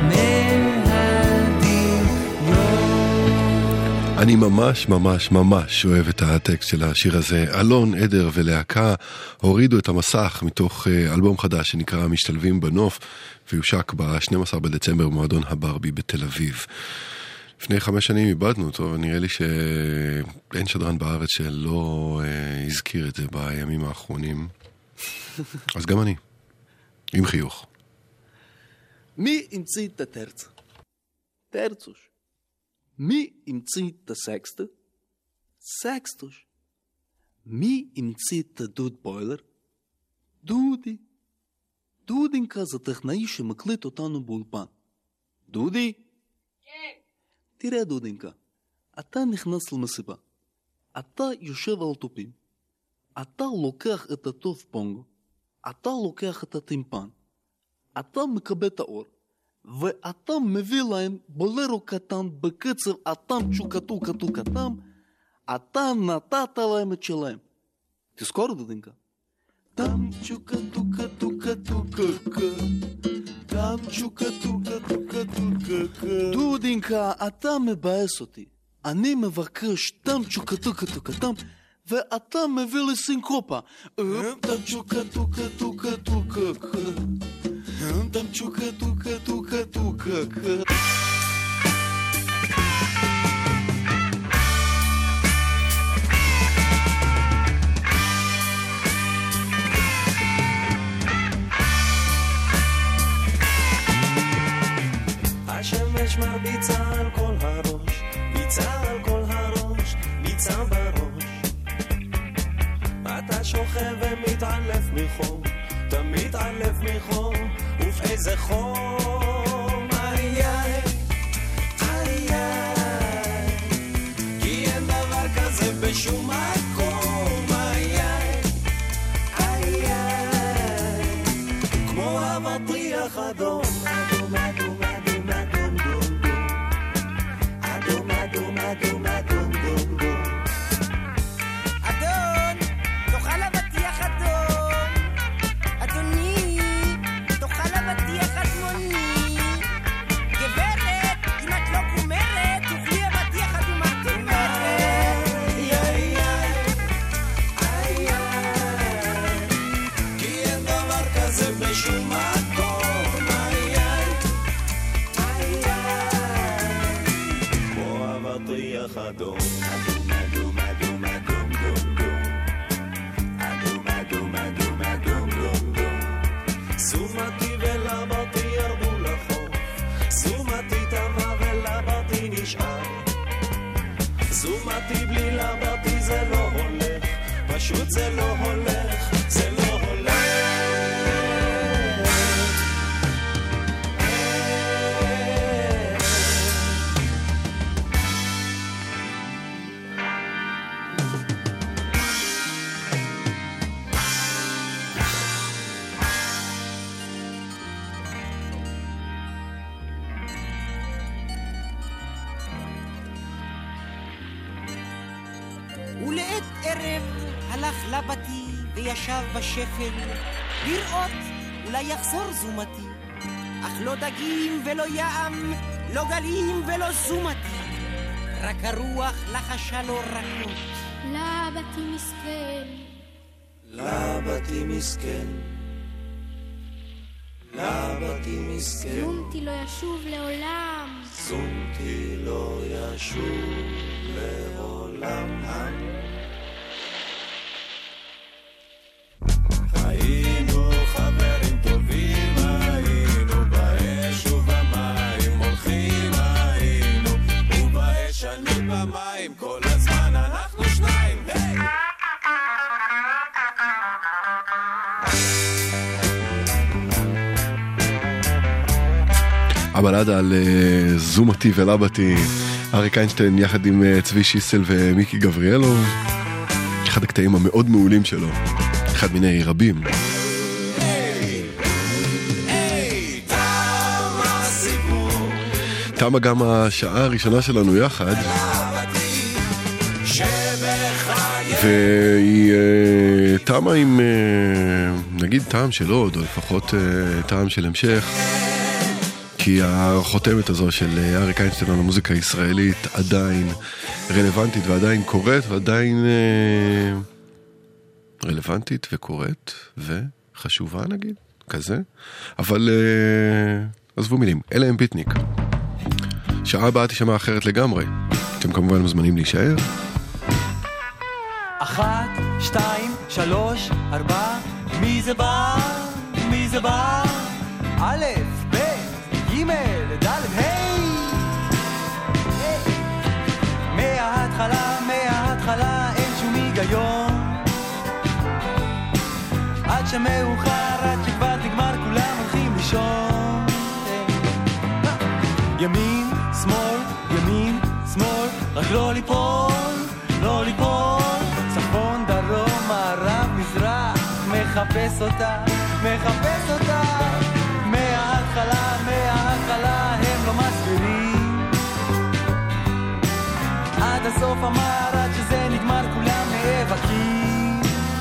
מהדמיון. אני ממש ממש ממש אוהב את הטקסט של השיר הזה. אלון, עדר ולהקה הורידו את המסך מתוך אלבום חדש שנקרא משתלבים בנוף, ויושק ב-12 בדצמבר במועדון הברבי בתל אביב. לפני 5 שנים איבדנו אותו, ונראה לי שאין שדרן בארץ שלא הזכיר את זה בימים האחרונים. אז גם אני, עם חיוך. מי המציא את הטרצה? טרצוש. מי המציא את הסקסטה? סקסטוש. מי המציא את הדוד בוילר? דודי. דודינקה זה טכנאי שמקליט אותנו באולפן. דודי? כן. תראה דודינקה, אתה נכנס למסיבה. אתה יושב על תופים. אתה לוקח את הטוב פונגו. אתה לוקח את הטימפן. אתה מקבל את האור. ואתה מביא להם בולרו קטן בקצב אתם צ'וקטו קטו קטם. אתה נתת להם את שלהם. תזכור דודינקה. תם צ'וקטו קטו קטו קקה. תם צ'וקטו קטו קטו קקה. דודינקה, אתה מבאס אותי. אני מבקש תם צ'וקטו קטו קטם, ואתה מביא לי סינקופה. תם צ'וקטו קטו קטו קקה. תם צ'וקטו קטו קטו קקה. השמש מרביצה על כל הראש, ביצה על כל הראש, ביצה בראש. אתה שוכב ומתעלף מחום, אתה מתעלף מחום, ובאיזה חום. איי איי, איי איי, כי אין דבר כזה בשום מקום. איי איי, איי איי, כמו המטריח אדום, אדום אדום אדום אדום דום דום, אדום אדום אדום אדום דום דום. אדון, תאכל אבטיח אדום, אדוני, תאכל אבטיח אדמוני. גברת, אם את לא גומרת, תאכלי אבטיח אדום אדום. איי איי איי איי, כי אין דבר כזה בשום מקום. איי איי איי איי, כמו אבטיח אדום, אדום אדום אדום אדום דום דום, אדום אדום אדום אדום דום דום. סומתי ולבתי ירדו לחוף, סומתי טבע ולבתי נשאר. סומתי בלי לבתי זה לא הולך, פשוט זה לא הולך, זה לא הולך. ולעת ערב הלך לבתי וישב בשפל לראות אולי יחזור זומתי, אך לא דגים ולא ים, לא גלים ולא זומתי, רק הרוח לחשה לו רכות. לבתי מסכן, לבתי מסכן, לבתי מסכן, זומתי לא ישוב לעולם, זומתי לא ישוב לעולם. היינו חברים טובים, היינו באש ובמים הולכים, היינו ובאש אני במים, כל הזמן אנחנו שניים. הבלדה על זומתי ולבתי, אריק איינשטיין יחד עם צבי שיסל ומיקי גבריאלוב, אחד הקטעים המאוד מעולים שלו, אחד מיני רבים. תמה גם השעה הראשונה שלנו יחד, והיא תמה עם נגיד טעם של עוד, או לפחות טעם של המשך, כי החותמת הזו של אריק איינשטיין על המוזיקה הישראלית עדיין רלוונטית ועדיין קורית, ועדיין רלוונטית וקורית וחשובה נגיד, כזה. אבל עזבו מילים, אלה הם ביטניק. שעה הבאה תשמע אחרת לגמרי. אתם כמובן מוזמנים להישאר. 1, 2, 3, 4, מי זה בא? מי זה בא? א', ב', ג', ד', ה'. מההתחלה אין שום היגיון, עד שמאוחר, עד שכבר תגמר כולה. לא ליפול, לא ליפול, צפון, דרום, מערב, מזרח, מחפש אותה, מחפש אותה, מההתחלה, מההתחלה, הם לא מסבירים, עד הסוף אמר, עד שזה נגמר, כולם נאבקים,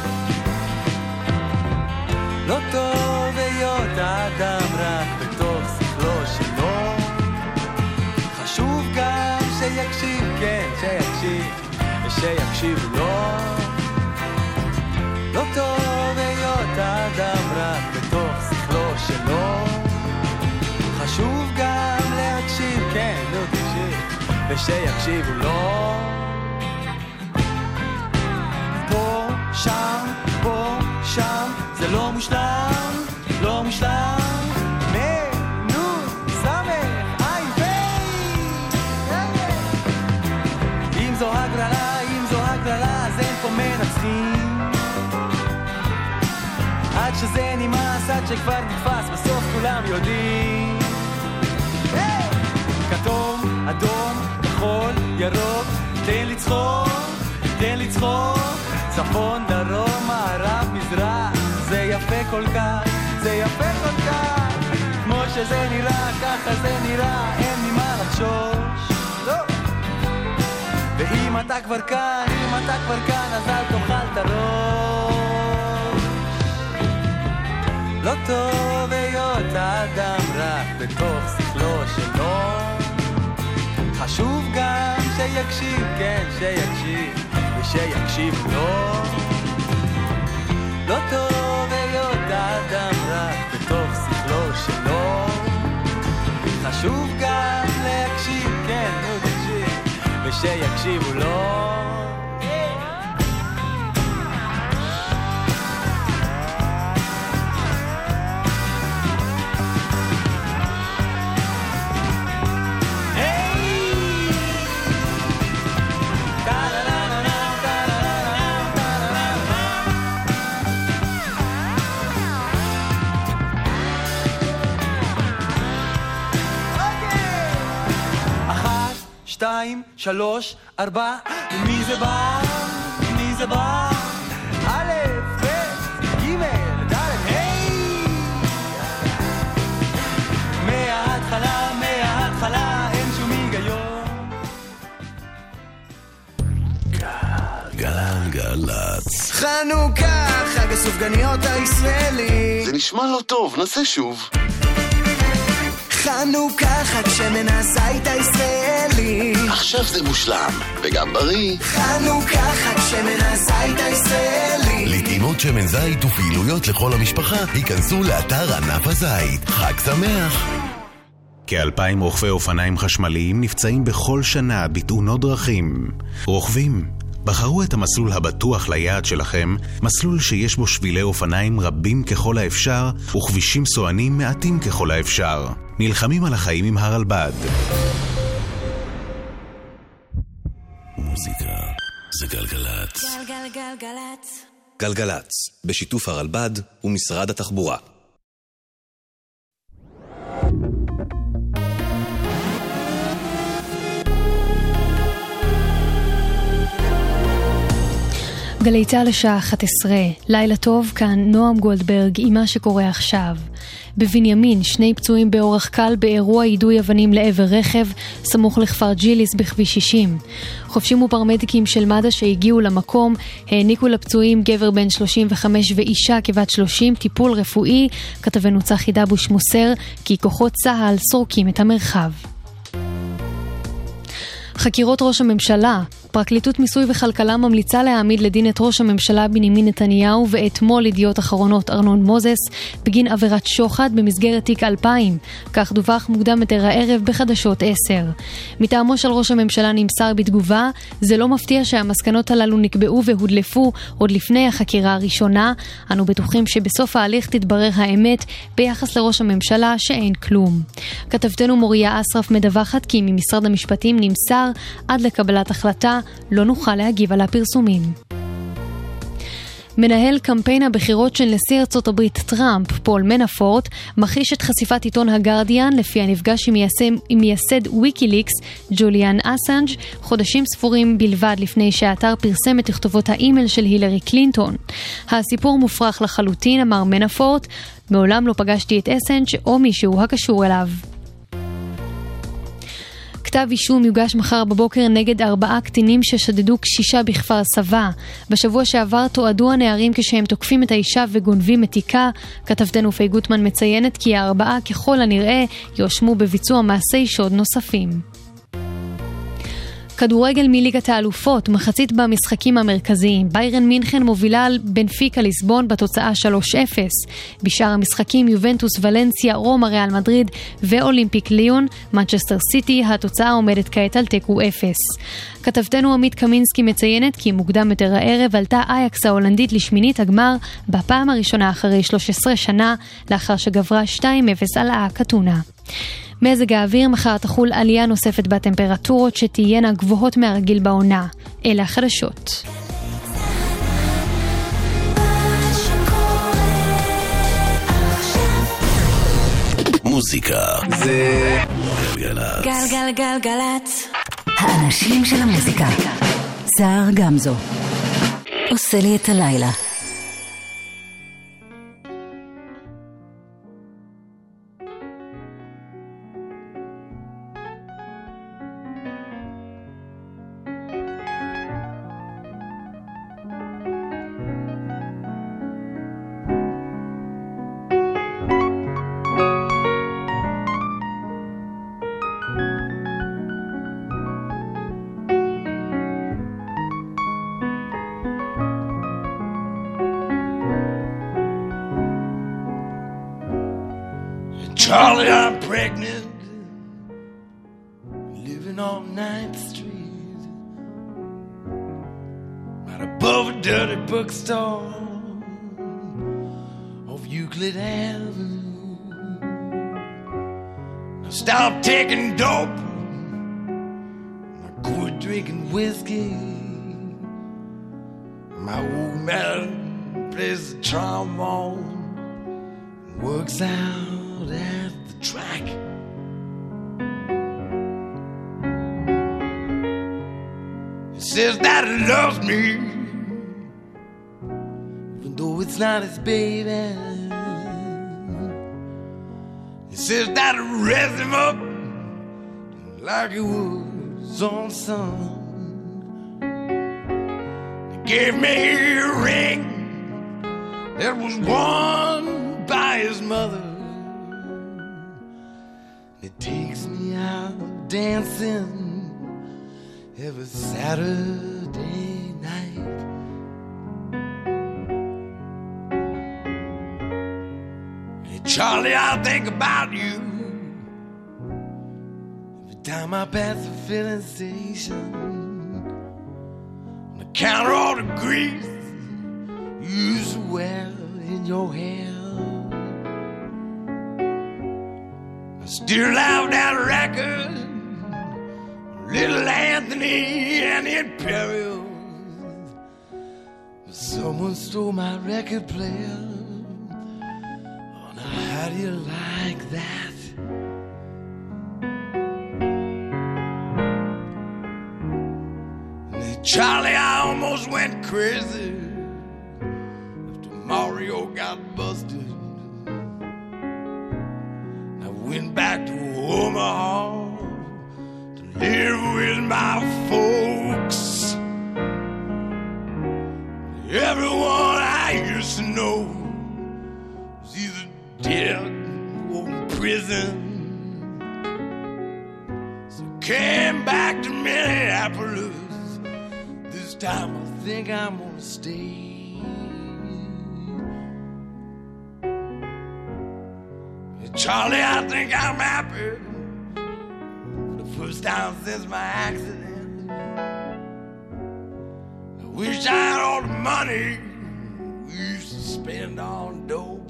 לא טוב היות האדם רק בתוך שכלו שלו, חשוב גם שיקשיב, כן, שיקשיב, ושיקשיב לו, לא טוב היות האדם רק בתוך שכלו שלו, חשוב גם להקשיב, כן, לא תקשיב, ושיקשיבו לו, פה, שם, פה, שם, זה לא מושלם, לא מושלם, אם זו הגרלה, אם זו הגרלה, אז אין פה מנצחים, עד שזה נמאס, עד שכבר נתפס, בסוף כולם יודעים, כתום, אדום, כחול, ירוק, תן לצחוק, תן לצחוק, צפון, דרום, מערב, מזרח, זה יפה כל כך, זה יפה כל כך, כמו שזה נראה, ככה זה נראה, אין ממה לחשוש, לא. ואם אתה כבר כאן, אם אתה כבר כאן, אז אל תאכל את הראש, לא טוב היות האדם רק בתוך שכלו שלו, חשוב גם שיקשיב, כן, שיקשיב, ושיקשיב לו, לא טוב היות האדם רק בתוך שכלו שלו, חשוב גם להקשיב, כן, ותקשיב, ושיקשיבו לו, שתיים, שלוש, ארבע, מי זה בא? מי זה בא? א', ב', ג', ד', היי! מההתחלה, מההתחלה, אין שום היגיון. גלגלצ. חנוכה, חג הסופגניות הישראלי. זה נשמע לא טוב, נעשה שוב. חנוכה, חג שמן הזית הישראלי. עכשיו זה מושלם, וגם בריא. חנוכה, חג שמן הזית הישראלי. לטעימות שמן זית ופעילויות לכל המשפחה, היכנסו לאתר ענף הזית. חג שמח. כ-2,000 רוכבי אופניים חשמליים נפצעים בכל שנה בתאונות דרכים. רוכבים, בחרו את המסלול הבטוח ליעד שלכם, מסלול שיש בו שבילי אופניים רבים ככל האפשר וכבישים סוענים מעטים ככל האפשר. נלחמים על החיים עם הרלב"ד. מוזיקה זה גלגלצ. גלגלגלגלצ. גלגלצ, בשיתוף הרלב"ד ומשרד התחבורה. גלי צהל לשעה 11, לילה טוב, כאן נועם גולדברג עם מה שקורה עכשיו. בבנימין, 2 פצועים באורח קל באירוע יידוי אבנים לעבר רכב, סמוך לכפר ג'יליס בכביש 60. חופשים ופרמדיקים של מד"א שהגיעו למקום, העניקו לפצועים גבר בן 35 ואישה כבת 30 טיפול רפואי. כתבנו צחי דבוש מוסר כי כוחות צה"ל סורקים את המרחב. חקירות ראש הממשלה. פרקליטות מיסוי וכלכלה ממליצה להעמיד לדין את ראש הממשלה בנימין נתניהו ואתמול ידיעות אחרונות ארנון מוזס בגין עבירת שוחד במסגרת תיק 2000. כך דווח מוקדם יותר הערב בחדשות 10. מטעמו של ראש הממשלה נמסר בתגובה, זה לא מפתיע שהמסקנות הללו נקבעו והודלפו עוד לפני החקירה הראשונה. אנו בטוחים שבסוף ההליך תתברר האמת ביחס לראש הממשלה שאין כלום. כתבתנו מוריה אסרף מדווחת כי ממשרד המשפטים נמסר עד לקבלת החלטה לא נוכל להגיב על הפרסומים. מנהל קמפיין הבחירות של נשיא ארצות הברית טראמפ, פול מנאפורט, מכחיש את חשיפת עיתון הגרדיאן לפי הנפגש עם מייסד ויקיליקס, ג'וליאן אסנג', חודשים ספורים בלבד לפני שהאתר פרסם את תכתובות האימייל של הילרי קלינטון. הסיפור מופרך לחלוטין, אמר מנאפורט, מעולם לא פגשתי את אסנג' או מישהו הקשור אליו. כתב אישום יוגש מחר בבוקר נגד 4 קטינים ששדדו קשישה בכפר סבא. בשבוע שעבר תועדו הנערים כשהם תוקפים את האישה וגונבים את תיקה. כתבתנו פי גוטמן מציינת כי 4 ככל הנראה יואשמו בביצוע מעשי שוד נוספים. כדורגל מליגת האלופות, מחצית במשחקים המרכזיים. ביירן מינכן מובילה על בנפיקה ליסבון בתוצאה 3-0. בשאר המשחקים יובנטוס, ולנסיה, רומא, ריאל מדריד ואולימפיק ליון, מנצ'סטר סיטי, התוצאה עומדת כעת על תיקו 0. כתבתנו עמית קמינסקי מציינת כי מוקדם יותר הערב עלתה אייקס ההולנדית לשמינית הגמר בפעם הראשונה אחרי 13 שנה, לאחר שגברה 2-0 על האקטונה. מזג האוויר, מחר תחול עלייה נוספת בטמפרטורות שתהיינה גבוהות מהרגיל בעונה. אלה החדשות. מוזיקה זה גלגלצ. גלגלגלגלצ. האנשים של המוזיקה. זהר גמזו. עושה לי את הלילה. Charlie, I'm pregnant, living on 9th Street, right above a dirty bookstore off Euclid Avenue. I stopped taking dope, I quit drinking whiskey. My old man plays the trombone and works out at the track. He says that he loves me, even though it's not his baby. He says that he raised him up like he was his own son. He gave me a ring that was worn by his mother. It takes me out dancing every Saturday night. Hey Charlie, I think about you every time I pass the filling station. On the counter, all the grease you used to wear in your hair. I still have that record, Little Anthony and the Imperials. Someone stole my record player. Oh, now how do you like that? And then Charlie, I almost went crazy after Mario got busted. Went back to Omaha to live with my folks. Everyone I used to know was either dead or in prison. So I came back to Minneapolis. This time I think I'm gonna stay. Charlie, I think I'm happy for the first time since my accident. I wish I had all the money we used to spend on dope.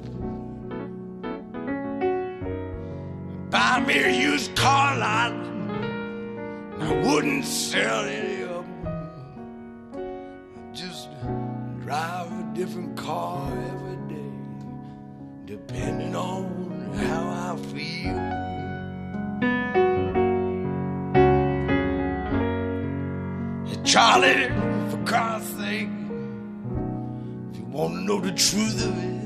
Buy me a used car lot, and I wouldn't sell any of them. I'd just drive a different car every day, depending on how I feel. Hey, Charlie, for God's sake, if you want to know the truth of it,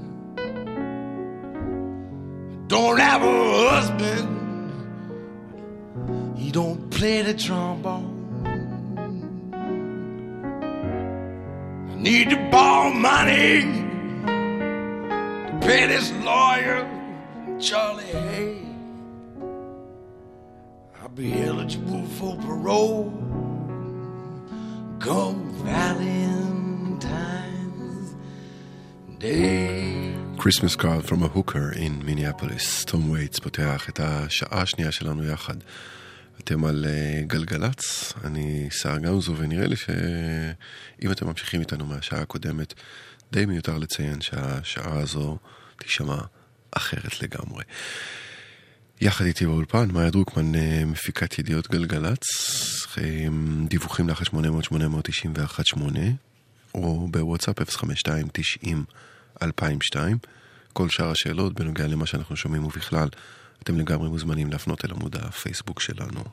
don't have a husband, he don't play the trombone. I need to borrow money to pay this lawyer, Charlie Hay. I'll be eligible for parole come Valentine's Day. Christmas card from a hooker in Minneapolis. תום וייטס פותח את השעה השנייה שלנו יחד. אתם על גלגלץ, אני שר גמזו, ונראה לי שאם אתם ממשיכים איתנו מהשעה הקודמת, די מיותר לציין שהשעה הזו תשמע אחרת לגמרי. יחד איתי באולפן, מאיה דרוקמן, מפיקת ידיעות גלגלץ, דיווחים לאחת 800-891-8, או בוואטסאפ 052-90-2002. כל שאר השאלות בנוגע למה שאנחנו שומעים ובכלל, אתם לגמרי מוזמנים להפנות אל עמוד הפייסבוק שלנו.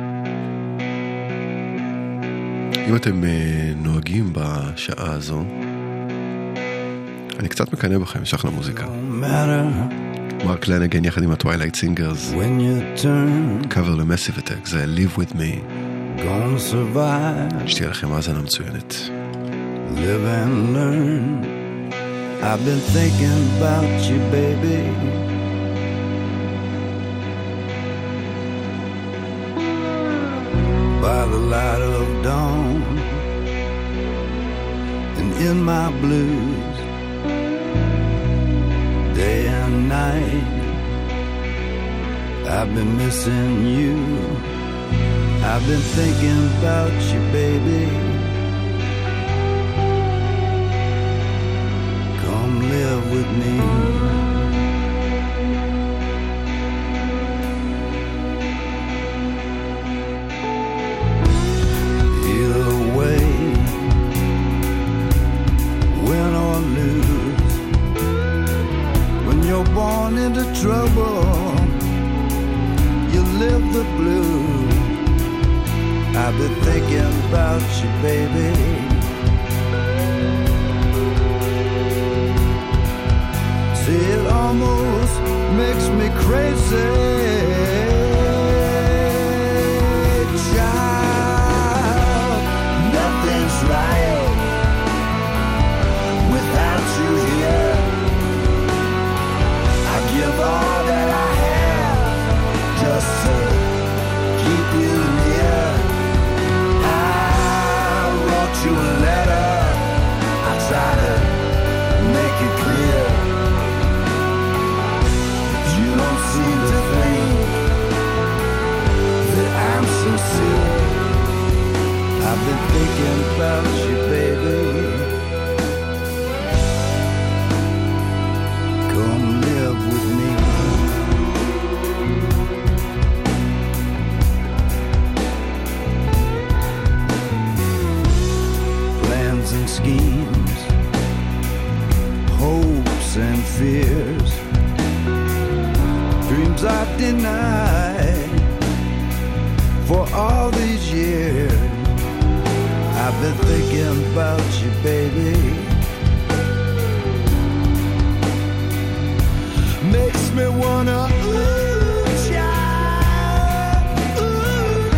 אם אתם נוהגים בשעה הזו, אני קצת מקנא בכם, יש אחלה מוזיקה. מרק לנגן יחד עם הטווילייט סינגרס, קאבר למסיב אטק, זה Live With Me. שתהיה לכם האזנה מצוינת. Live and learn. I've been thinking about you, baby. By the light of dawn and in my blues, day and night I've been missing you. I've been thinking about you, baby. Come live with me. Either way, win or lose, when you're born into trouble, you live the blues. I've been thinking about you, baby. See, it almost makes me crazy. Child, nothing's right without you here. I give all that I have just to keep you near. I wrote you a letter, I try to make it clear. You don't seem to think that I'm sincere. I've been thinking about you, baby. Come live with me. Plans and schemes, hopes and fears, dreams I've denied for all these years. I've been thinking about you, baby. Makes me wanna, ooh, child, ooh,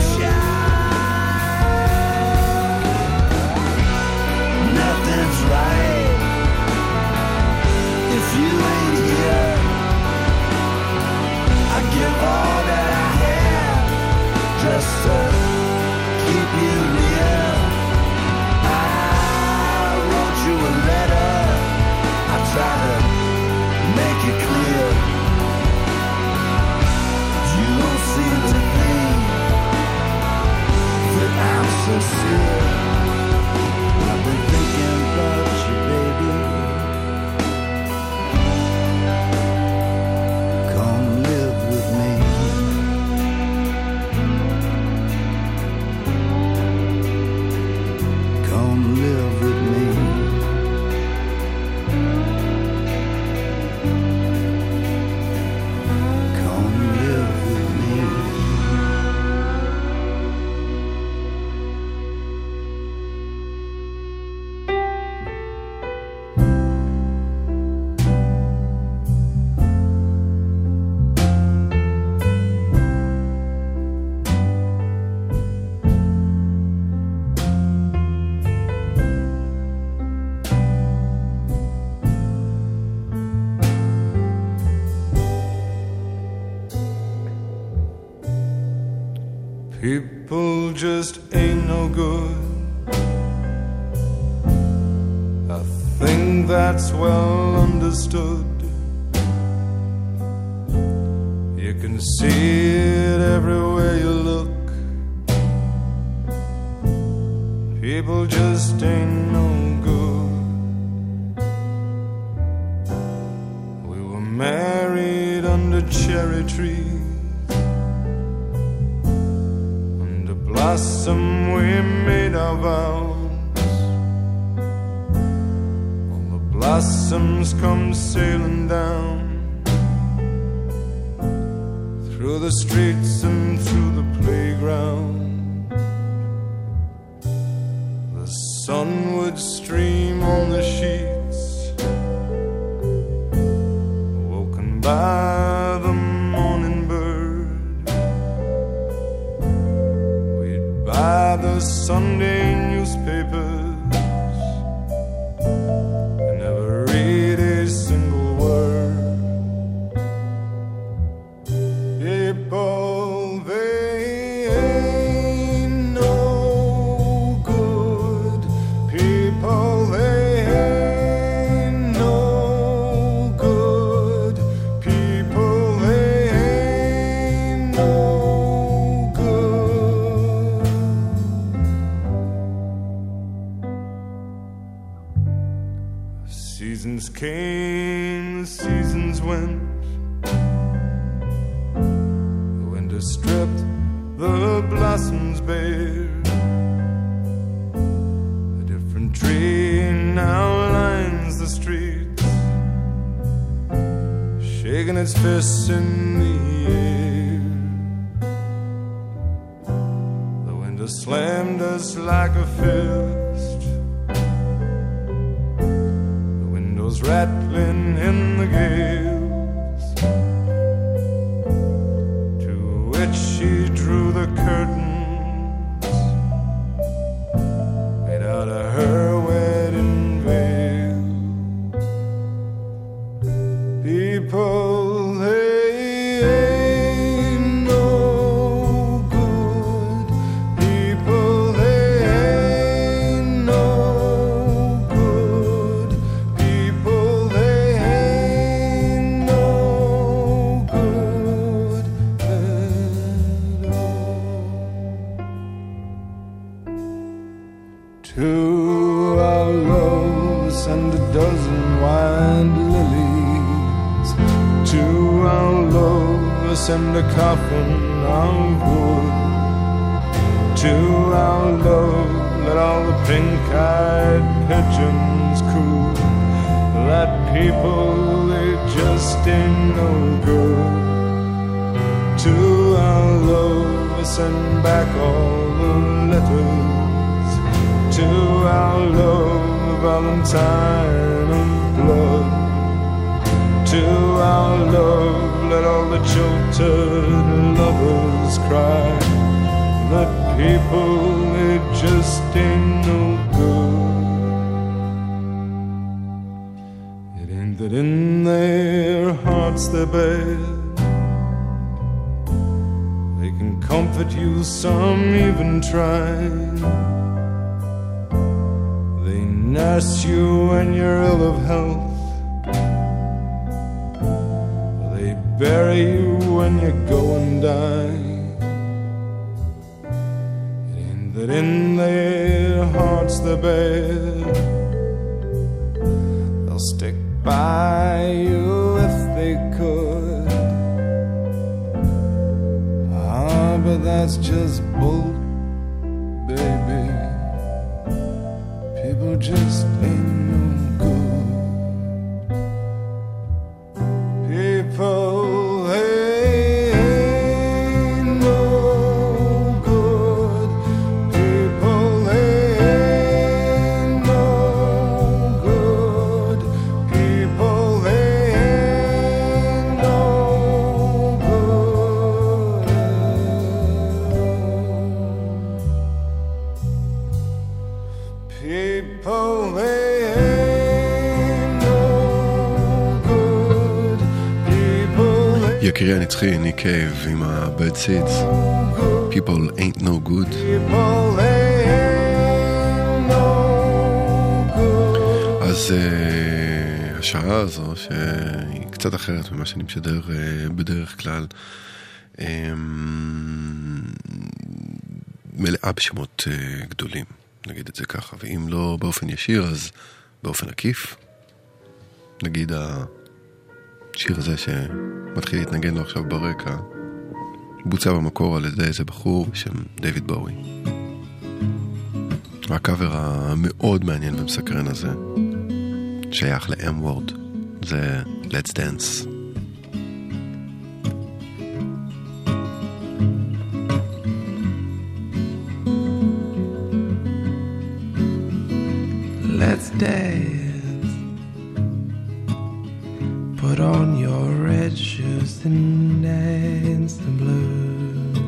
child. Nothing's right if you ain't here. I give all that I have just to keep you near. I wrote you a People just ain't no good. I think that's well understood. You can see it everywhere you look. People just ain't no good. We were married under cherry trees. Under blossom we made our vows. All the blossoms come sailing down through the streets and through the playground. The sun would stream on the sheets, woken by the morning bird. We'd buy the Sunday newspapers and never read a single word. People, they ain't no good. People, they ain't no good. People, they ain't no good. Seasons came, seasons went. Stripped the blossoms bare. A different tree now lines the streets, shaking its fists in the air. The wind has slammed us like a fist, the windows rattling in the gale. She drew the curtains made out of her wedding veil. People, they ain't no good. People, they ain't no good. People, they ain't no good. To our loves and a dozen wild lilies, to our loves and a coffin of wood, to our love let all the pink-eyed pigeons coo. That people, they just ain't no good. To our love send back all the letters. To our love, Valentine of blood. To our love, let all the jilted lovers cry. That people, they just ain't no good. It ain't that in their hearts they're bad. They can comfort you, some even try. Nurse you when you're ill of health. They bury you when you go and die. It ain't that in their hearts they're bad. They'll stick by you if they could. Ah, but that's just bull, baby. People just ain't no good. People, they ain't no good. People, they ain't no good. People, they ain't no good. People, they יקירי הנצחי, ניק קייב עם ה-Bad Seeds. People ain't no good. אז השעה הזו, שהיא קצת אחרת ממה שאני משדר בדרך כלל, מלאה בשמות גדולים, נגיד את זה ככה, ואם לא באופן ישיר אז באופן עקיף. נגיד השיר הזה שמתחיל להתנגן לו עכשיו ברקע בוצע במקור על ידי איזה בחור בשם דיוויד בואי. הקאבר המאוד מעניין ומסקרן הזה שייך ל-M-Word, זה Let's Dance. Let's dance. Put on your red shoes and dance the blues.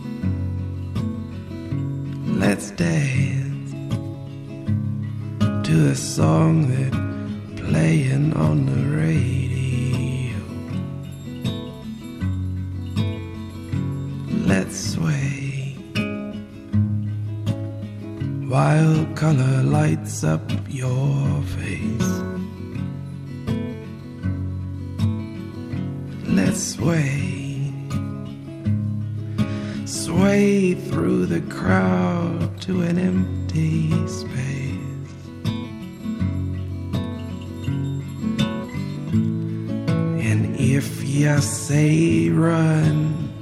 Let's dance to a song that playing on the radio. Let's sway while color lights up your face. Let's sway through the crowd to an empty space. And if you say run,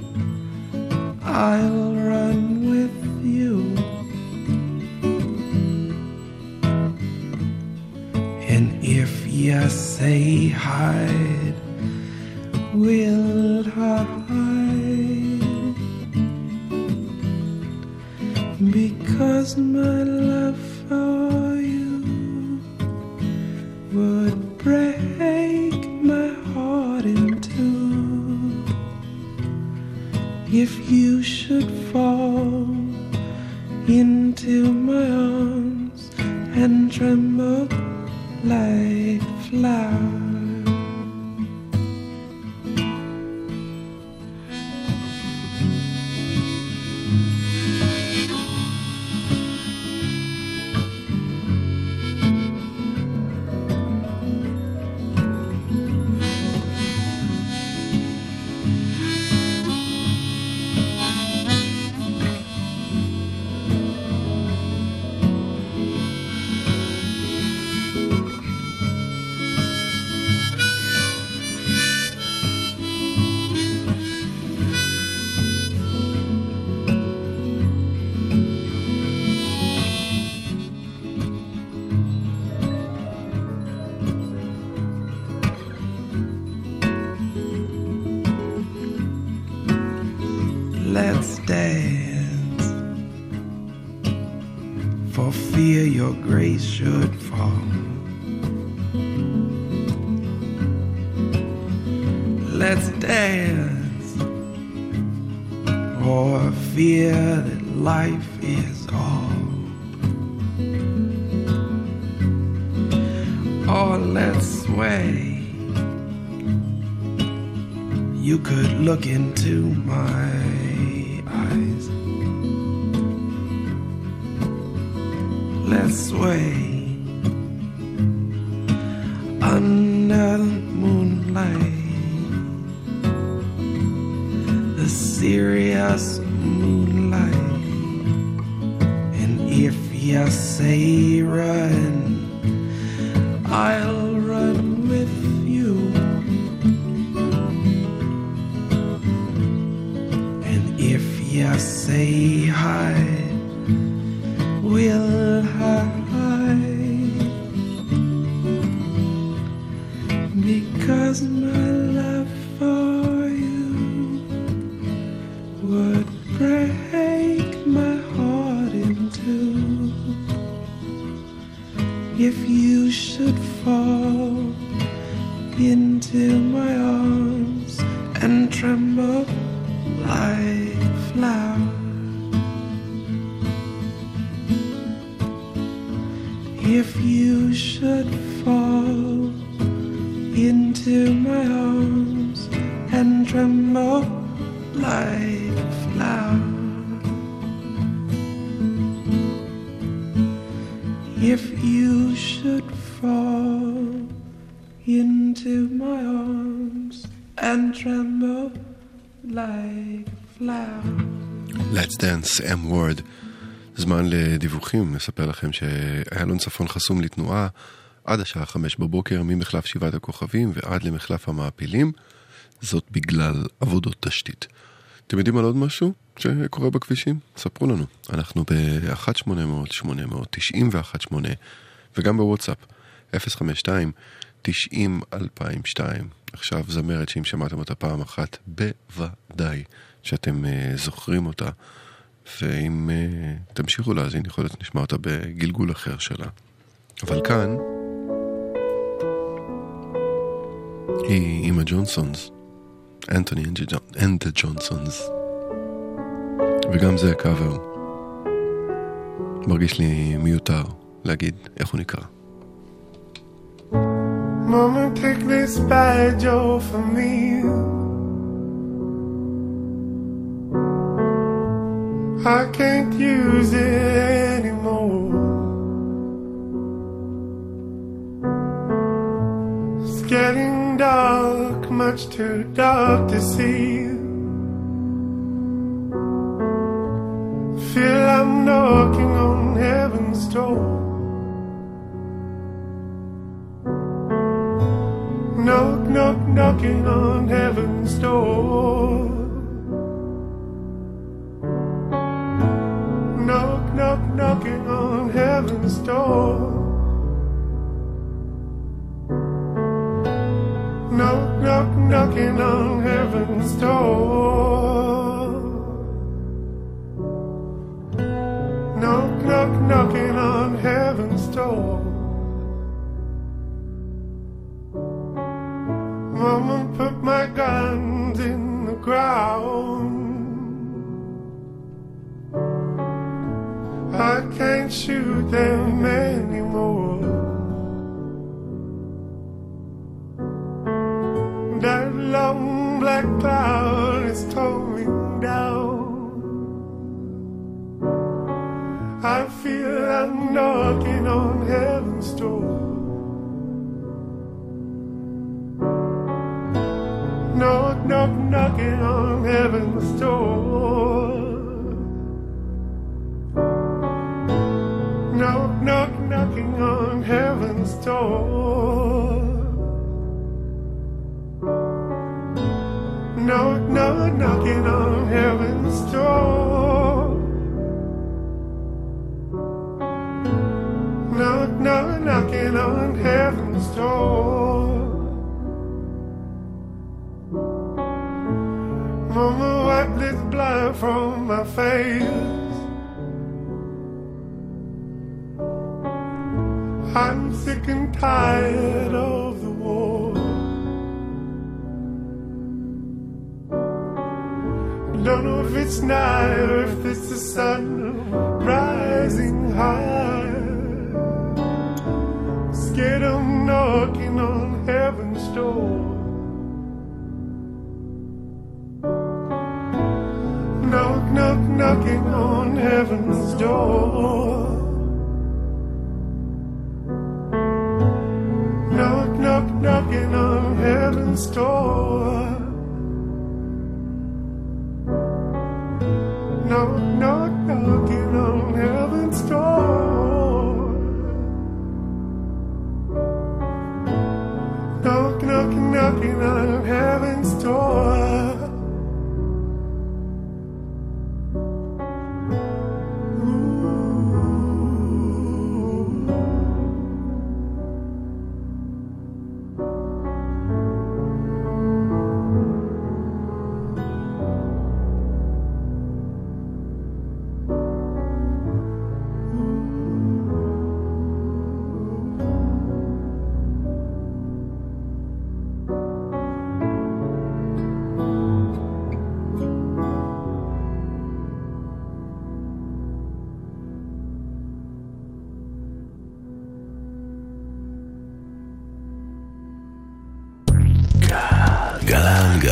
I'll run with you. And if you say hide, we'll hide. Because my love for you would break my heart in two. If you should fall into my arms and tremble like flowers. Let's dance, for fear your grace should fall. Let's dance, for fear that life is all. Or let's sway. You could look into my eyes. Let's sway under the moonlight, the serious moonlight. And if you say run, I'll run with you. And if you say hide, we'll hide. Because my love for you would break my heart in two. If you should fall into my arms and tremble like flowers. If you should fall into my arms and tremble like a flower. If you should fall into my arms and tremble like a flower. Let's dance, M-word. זמן לדיווחים, נספר לכם שאיילון צפון חסום לתנועה עד השעה 5 בבוקר ממחלף שבעת הכוכבים ועד למחלף המעפילים, זאת בגלל עבודות תשתית. אתם יודעים על עוד משהו שקורה בכבישים? ספרו לנו. אנחנו ב-1-800-800-918 וגם בוואטסאפ 052-90-2002. עכשיו זמרת שאם שמעתם אותה פעם אחת בוודאי שאתם זוכרים אותה, ואם תמשיכו להזין יכול להיות נשמע אותה בגלגול אחר שלה. אבל כאן היא אימא ג'ונסונס, אנטוני אנד ג'ונסונס, וגם זה קאבר. מרגיש לי מיותר להגיד איך הוא נקרא. Mama, take this badge off of me. I can't use it anymore. It's getting dark, much too dark to see. Feel I'm knocking on heaven's door. Knock, knock, knocking on heaven's door. Knock, knock, knocking on heaven's door. Knock, knock, knocking on heaven's door. Knock, knock, knocking on heaven's door. Mama, put my guns in the ground. I can't shoot them anymore. That long black cloud is towing down. I feel I'm knocking on heaven's door. Knock, knock, knocking on heaven's door. Knock, knock, knocking on heaven's door. Knock, knock, knocking on heaven's door. Knock, knock, knocking on heaven's door. Mama, wipe this blood from my face. I'm sick and tired of the war. Don't know if it's night or if it's the sun rising high. Scared I'm knocking on heaven's door. Knock, knock, knocking on heaven's door. Knock, knock, knocking on heaven's door. Knock, knock, knocking on heaven's door. Knock, knock, knocking on heaven's door.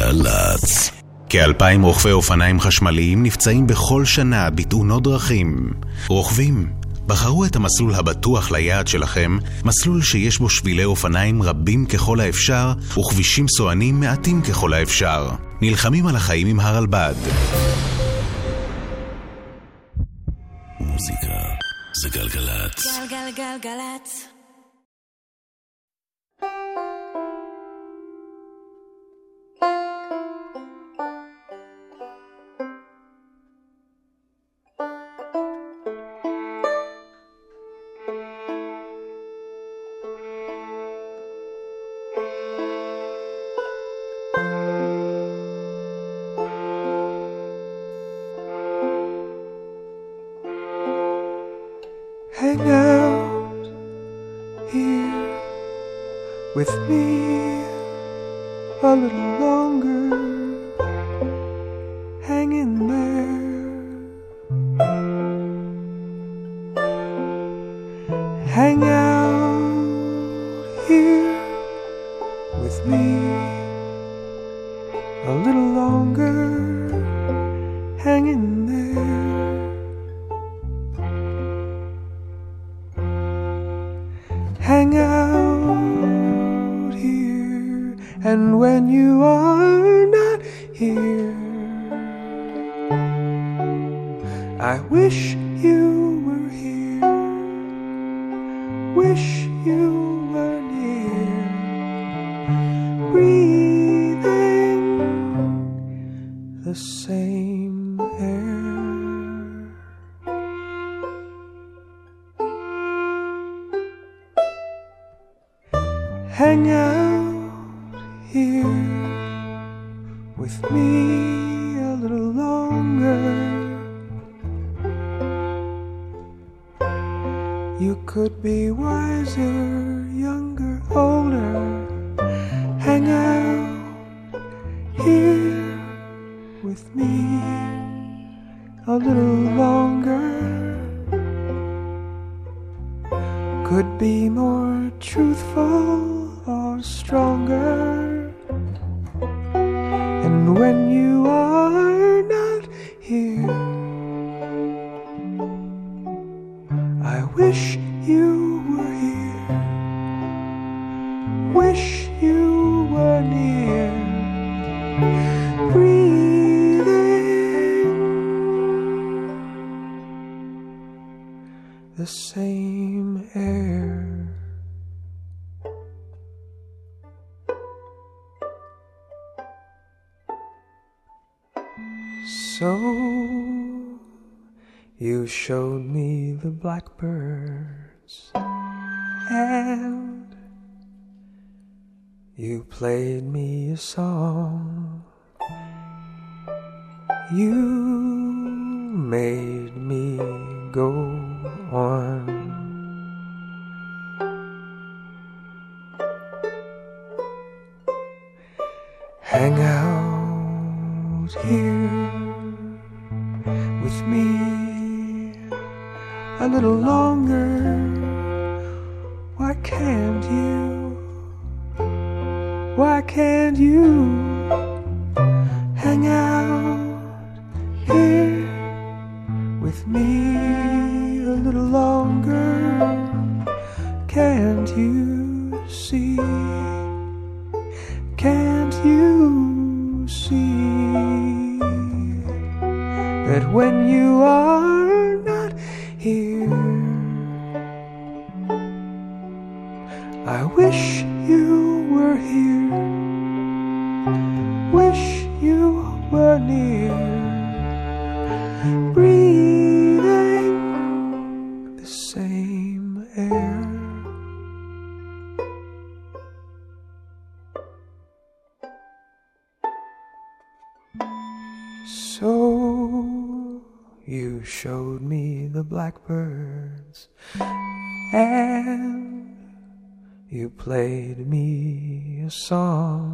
גלגלצ. כ-2,000 רוכבי אופניים חשמליים נפצעים בכל שנה בתאונות דרכים. רוכבים, בחרו את המסלול הבטוח ליעד שלכם, מסלול שיש בו שבילי אופניים רבים ככל האפשר וכבישים סוענים מעטים ככל האפשר. נלחמים על החיים עם הרלב"ד. מוזיקה זה גלגלצ. גלגלגלגלצ. Hang out here with me a little longer. Hang in there. Hang out here with me a little longer. Hang in there. Hang out here, and when you are not here, I wish you were here, wish you were near, breathing the same air. Hang out here with me a little longer. You could be wiser, younger, older. Hang out here with me a little longer. Could be more truthful or stronger. And when you are not here, I wish you were here, wish you were near, breathing the same air. So you showed me the blackbirds and you played me a song. You made me go on. Hang out here with me a little longer. Why can't you? Why can't you hang out here with me a little longer? Can't you see? Can't you see that when you are not here, I wish you were here, wish you were near, breathing the same air. So you showed me the blackbirds and you played me a song.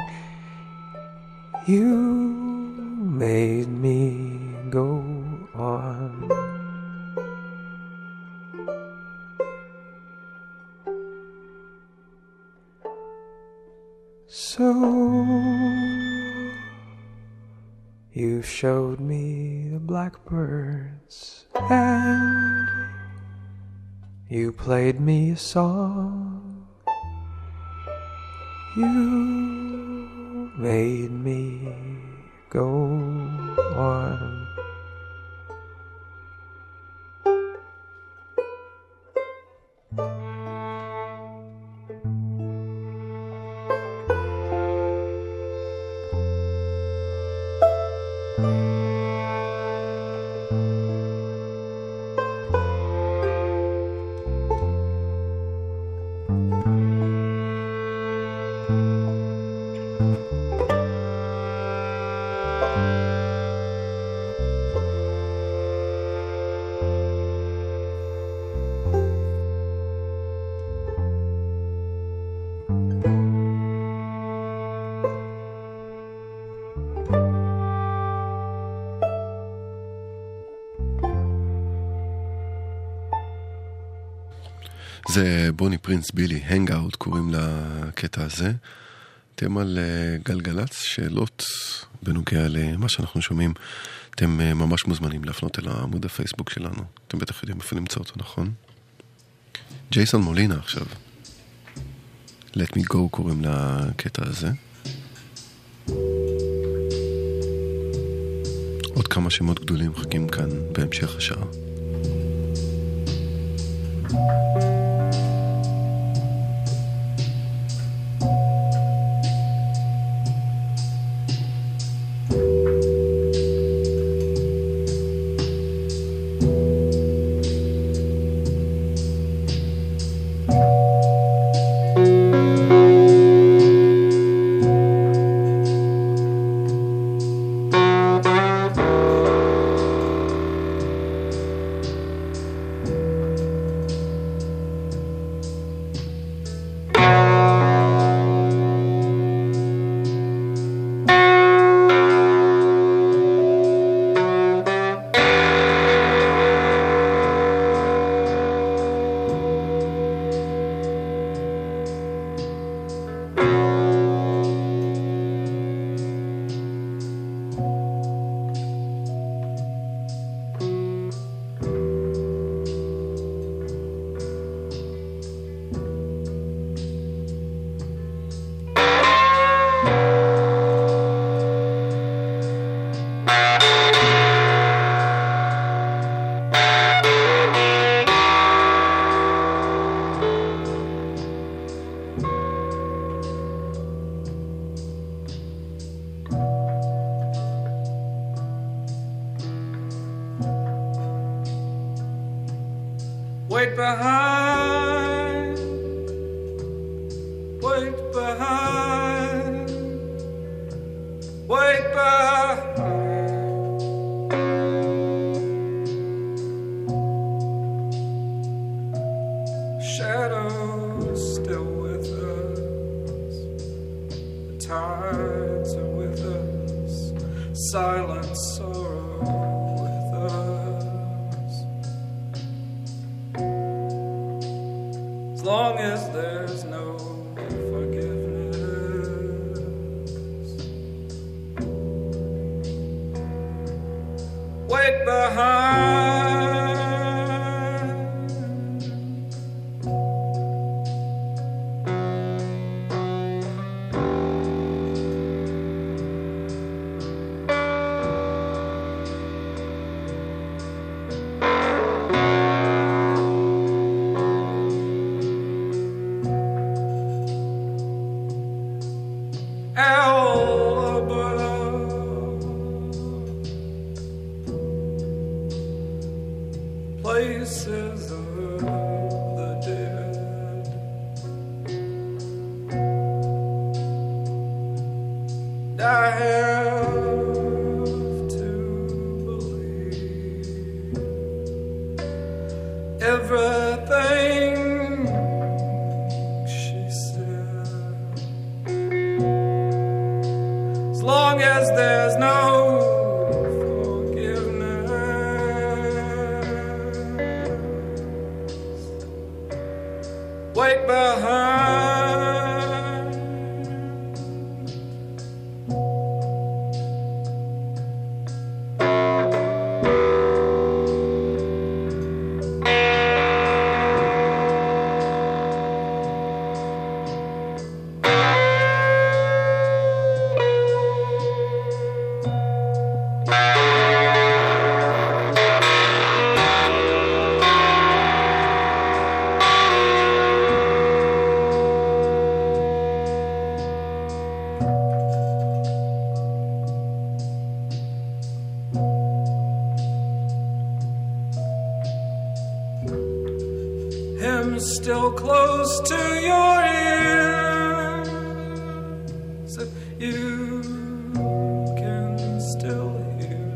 You made me go on. So You showed me the blackbirds and you played me a song. You made me go on. זה בוני פרינס בילי, הנגאוט קוראים לקטע הזה. אתם על גלגלץ, שאלות בנוגע למה שאנחנו שומעים. אתם ממש מוזמנים להפנות אל עמוד הפייסבוק שלנו. אתם בטח יודעים איפה למצוא אותו, נכון? ג'ייסון מולינה עכשיו. Let me go קוראים לקטע הזה. עוד כמה שמות גדולים מחכים כאן בהמשך השעה. Wait behind, wait behind, wait behind. Shadows still with us, the tides are with us, silent sorrow with us. As long as there's no forgiveness, wait behind. Places of the dead, and I have to believe everything she said, as long as there's no wait behind. still close to your ears, if you can still hear.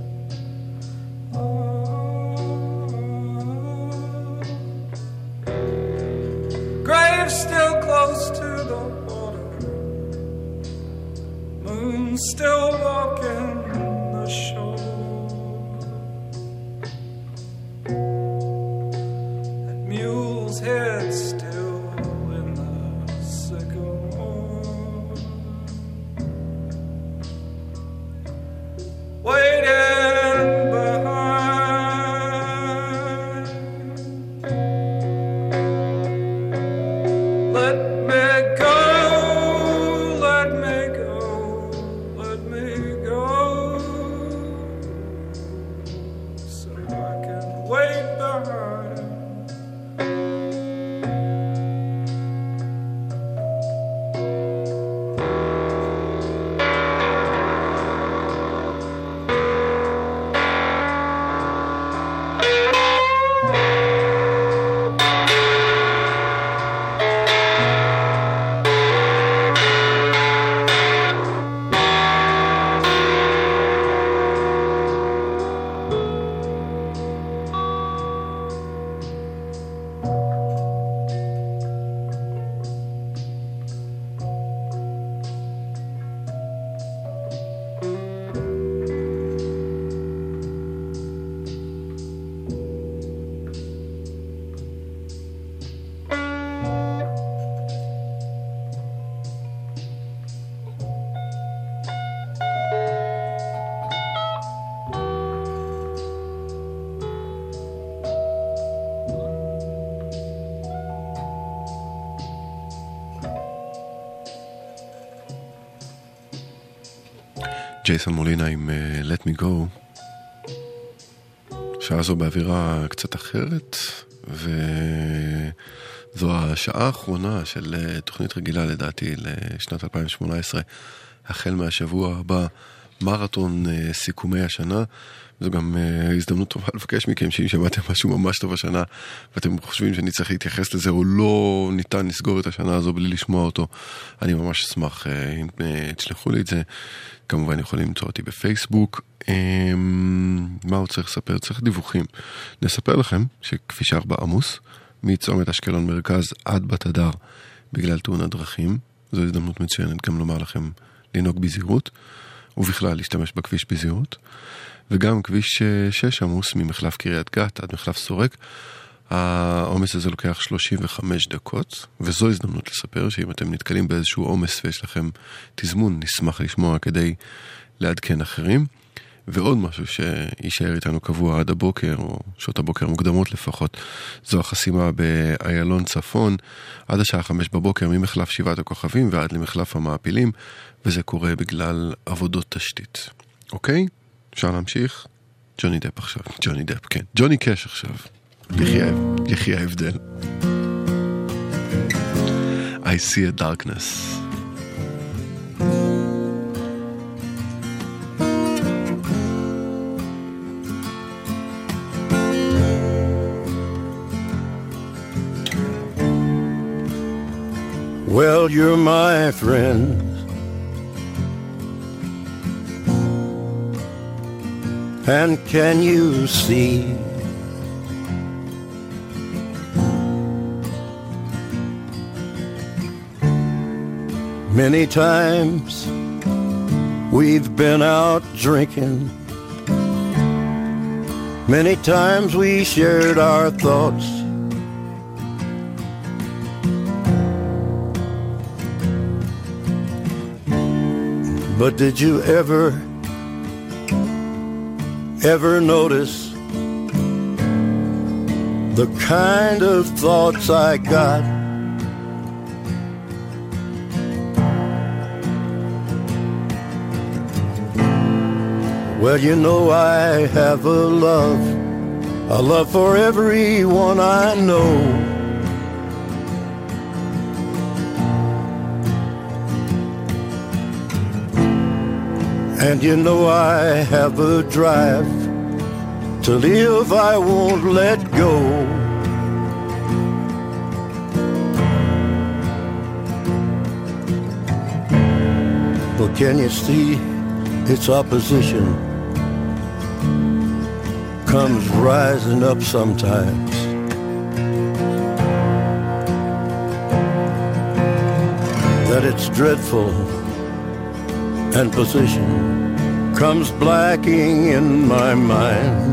Grave still close to the water, moon still walking the shore, and mule's head still in the sycamore, waiting behind. Let me go, let me go, let me go, so I can wait behind. ג'ייסון מולינה עם Let Me Go. שעה זו באווירה קצת אחרת, וזו השעה האחרונה של תוכנית רגילה לדעתי לשנת 2018, החל מהשבוע הבא מרתון סיכומי השנה. זו גם הזדמנות טובה לבקש מכם שאם שמעתם משהו ממש טוב השנה ואתם חושבים שאני צריך להתייחס לזה או לא ניתן לסגור את השנה הזו בלי לשמוע אותו, אני ממש אשמח אם תשלחו לי את זה. כמובן יכולים למצוא אותי בפייסבוק. מה הוא צריך לספר? צריך דיווחים. נספר לכם שכביש 4 עמוס מצומת אשקלון מרכז עד בת הדר בגלל תאונת דרכים. זו הזדמנות מצוינת גם לומר לכם לנהוג בזהירות ובכלל להשתמש בכביש בזהירות. וגם כביש 6 עמוס ממחלף קריית גת עד מחלף סורק. העומס הזה לוקח 35 דקות, וזו הזדמנות לספר שאם אתם נתקלים באיזשהו עומס ויש לכם תזמון, נשמח לשמוע כדי לעדכן אחרים. ועוד משהו שישאר איתנו קבוע עד הבוקר, או שעות הבוקר מוקדמות לפחות, זו החסימה באיילון צפון, עד השעה 5 בבוקר ממחלף 7 הכוכבים ועד למחלף המעפילים, וזה קורה בגלל עבודות תשתית. אוקיי? אפשר להמשיך? ג'וני דפ עכשיו. ג'וני דפ, כן. ג'וני קש עכשיו. יחי ההבדל. I see a darkness. Well, you're my friend, and can you see many times we've been out drinking, many times we shared our thoughts, but did you ever notice the kind of thoughts I got? Well, you know I have a love for everyone I know. And you know I have a drive to live I won't let go. Well, can you see its opposition comes rising up sometimes? That it's dreadful and position comes blacking in my mind,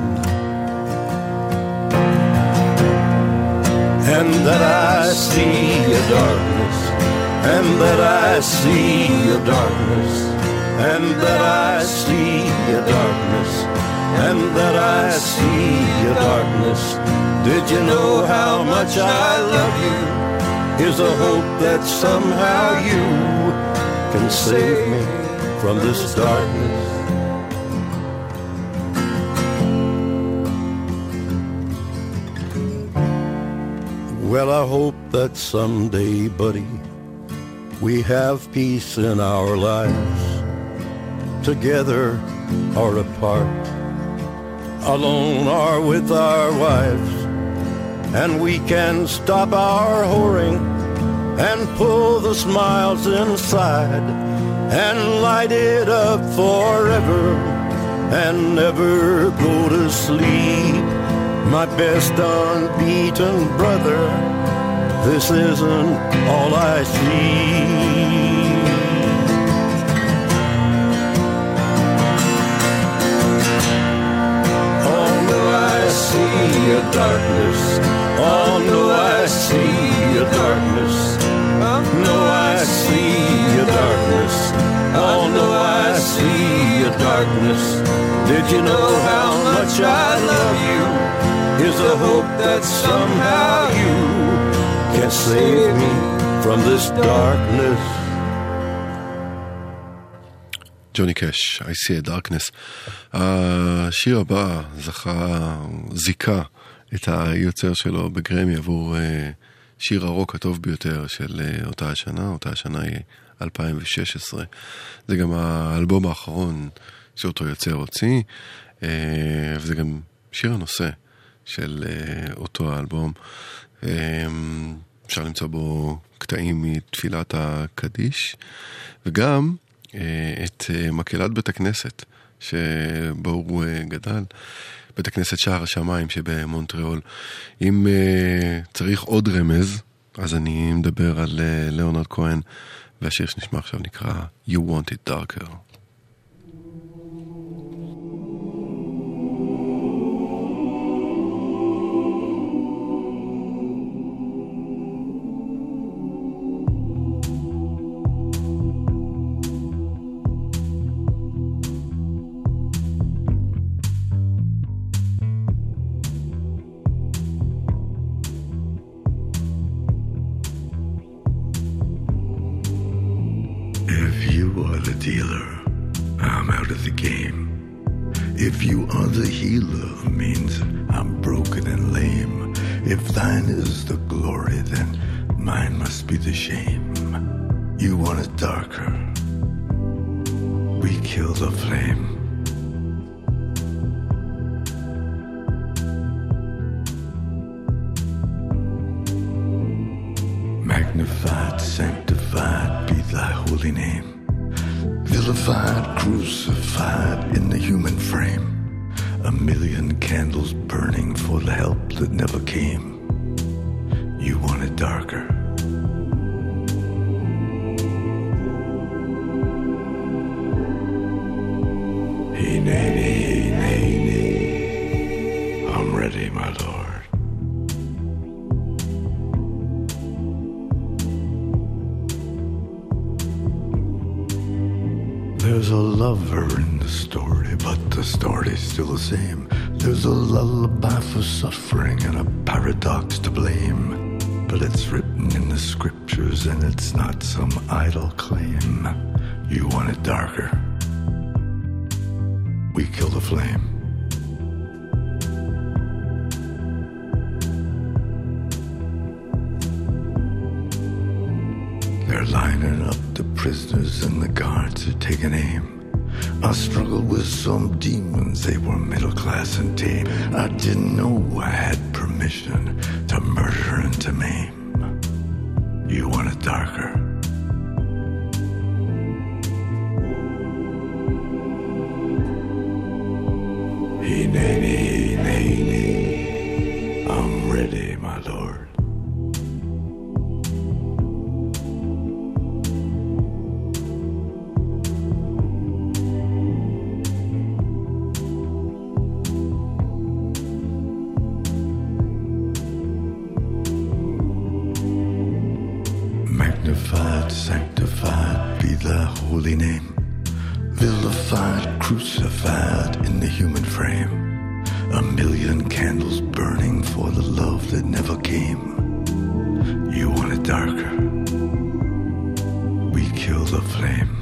and that I see a darkness, and that I see a darkness, and that I see a darkness, and that I see a darkness. Did you know how much I love you? Is a hope that somehow you can save me from this darkness. Well, I hope that someday, buddy, we have peace in our lives, together or apart, alone or with our wives, and we can stop our whoring and pull the smiles inside and light it up forever and never go to sleep. My best unbeaten brother, this isn't all I see. Oh no, I see a darkness. Oh no, I see a darkness. No, I see a darkness. Oh no, I see a darkness. Did you know how much I love you? Is a hope that somehow you can save me from this darkness. ג'וני קאש, I see a darkness. השיר הבא זיכה את היוצר שלו בגרמי עבור שיר הרוק הטוב ביותר של אותה השנה היא 2016. זה גם האלבום האחרון שאותו יוצר הוציא, וזה גם שיר הנושא של אותו האלבום. אפשר למצוא בו קטעים מתפילת הקדיש, וגם את מקהלת בית הכנסת שבו הוא גדל, בית הכנסת שער השמיים שבמונטריאול. אם צריך עוד רמז, אז אני מדבר על ליאונרד כהן, והשיר שנשמע עכשיו נקרא You Want It Darker. Dealer, I'm out of the game. If you are the healer, means I'm broken and lame. If thine is the glory, then mine must be the shame. You want it darker, we kill the flame. Magnified, sanctified be thy holy name. Vilified, crucified in the human frame. A million candles burning for the help that never came. You want it darker. Hey, nay, nay, nay, nay. I'm ready, my lord. There's a lover in the story, but the story's still the same. There's a lullaby for suffering and a paradox to blame. But it's written in the scriptures and it's not some idle claim. You want it darker, we kill the flame. They're lining up the prisoners and the guards are taking aim. I struggled with some demons, they were middle class and tame. I didn't know I had permission to murder and to maim. You want it darker, Hineni, hineni, I'm ready, my lord. Magnified, sanctified be thy holy name. Vilified, crucified in the human frame. A million candles burning for the love that never came. You want it darker? We kill the flame.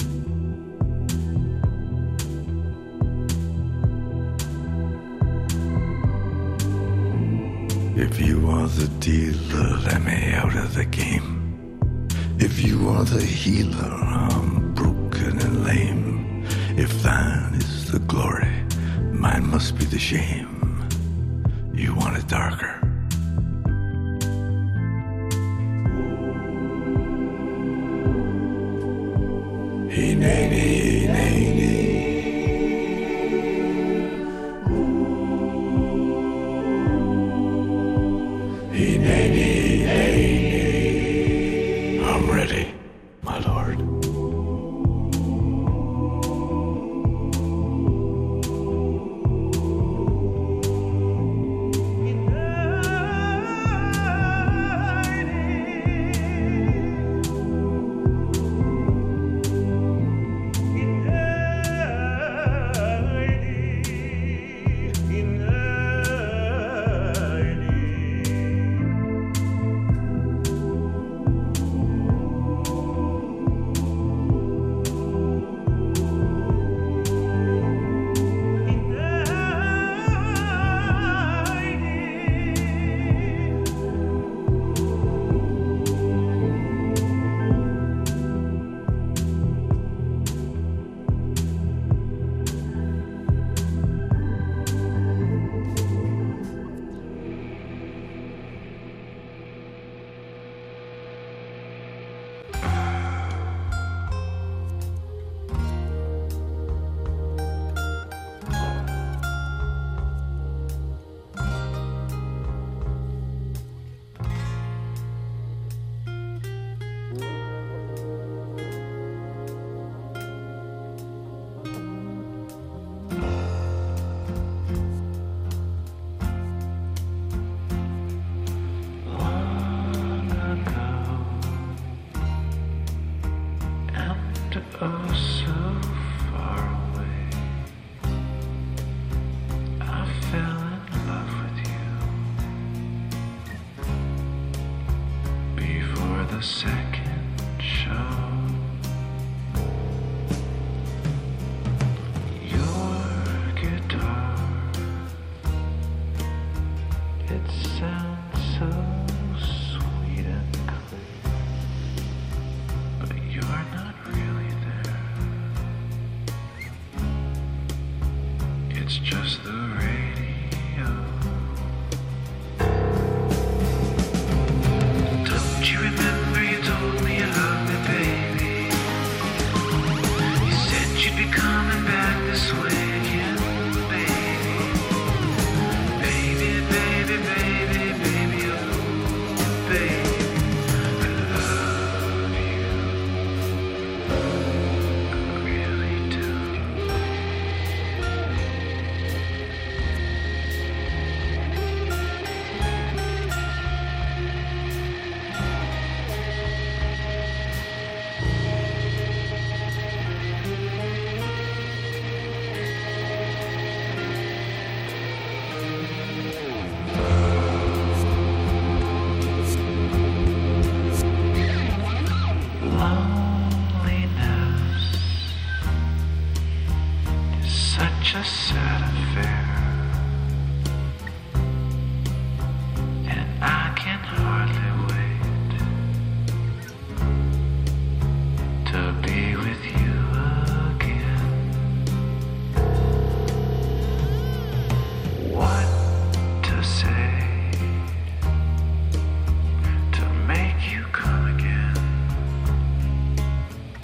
If you are the dealer, let me out of the game. If you are the healer, I'm broken and lame. If thine is the glory, mine must be the shame. You want it darker? Hineni, hineni. Hineni, hineni. I'm ready, my lord.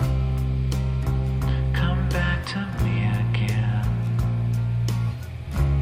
Come back to me again.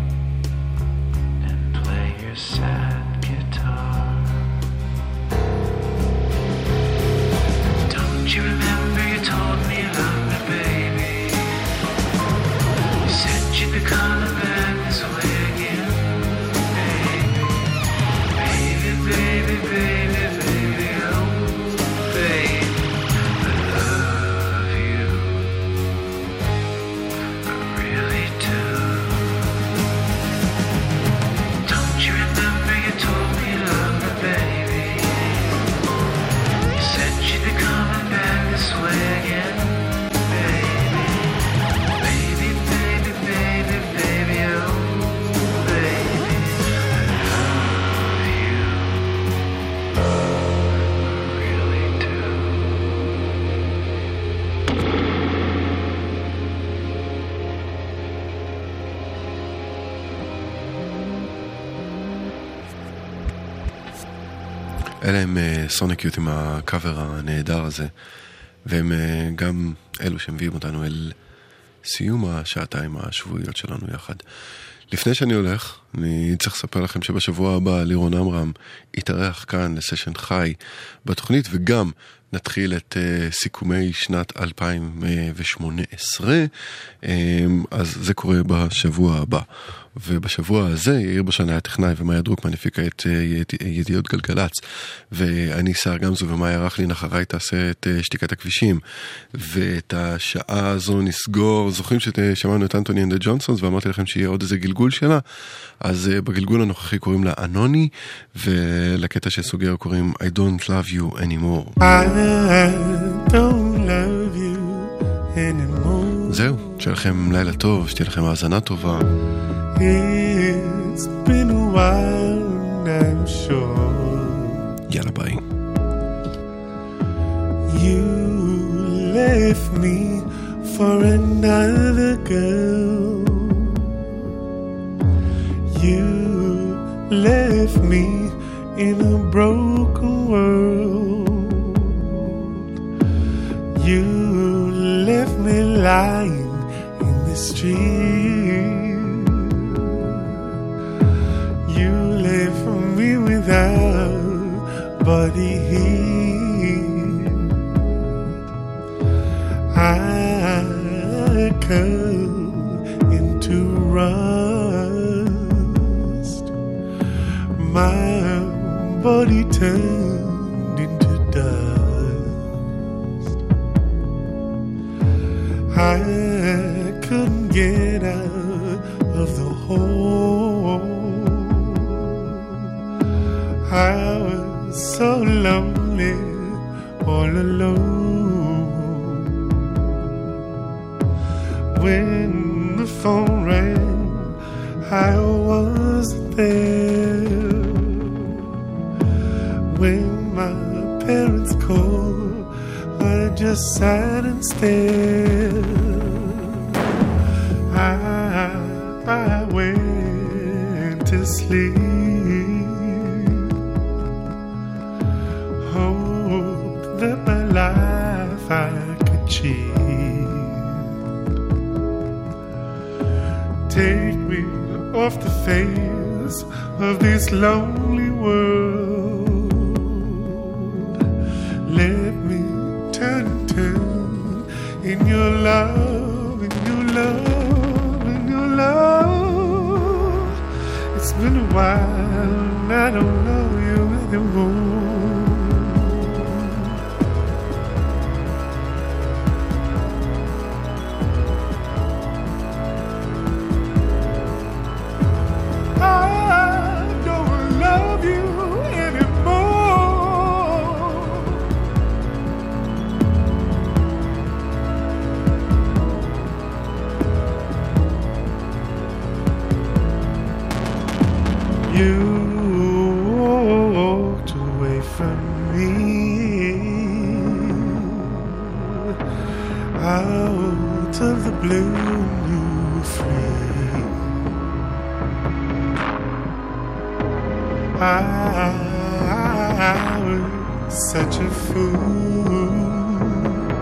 אלה הם סוניק יוט עם הקאבר הנהדר הזה, והם גם אלו שמביאים אותנו אל סיום השעתיים השבועיות שלנו יחד. לפני שאני הולך, אני צריך לספר לכם שבשבוע הבא לירון אמרם יתארח כאן לסשן חי בתוכנית, וגם נתחיל את סיכומי שנת 2018, אז זה קורה בשבוע הבא. ובשבוע הזה יאיר בשן היה טכנאי ומאיה דרוקמן הפיקה את ידיעות גלגלץ, ואני שר גמזו ומאיה רכלין אחריי תעשה את שתיקת הכבישים, ואת השעה הזו נסגור. זוכרים ששמענו את אנטוני אנד ג'ונסונס ואמרתי לכם שיהיה עוד איזה גלגול שלה? אז בגלגול הנוכחי קוראים לה אנוני, ולקטע שסוגר קוראים I don't love you anymore. I don't love you anymore. זהו, שיהיה לכם לילה טוב, שתהיה לכם האזנה טובה. It's been a while, I'm sure. יאללה ביי. You left me for another girl. You left me in a broken world. You left me lying in the street. You left me without body heat. I come into rust. My body turned into dust. I couldn't get out of the hole. I was so lonely, all alone. When the phone rang, I wasn't there. When my parents called, I just sat and stared. I went to sleep, hoped that my life I could cheat. Take me off the face of this lonely world. Let me turn and turn in your love, in your love, in your love. It's been a while and I don't know you anymore. You walked away from me out of the blue, you were free. I was such a fool.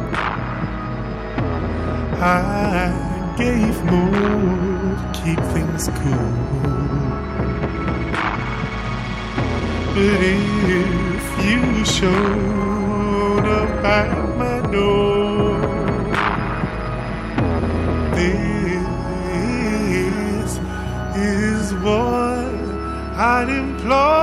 I gave more to keep things cool. But if you showed up at my door, this is what I'd implore.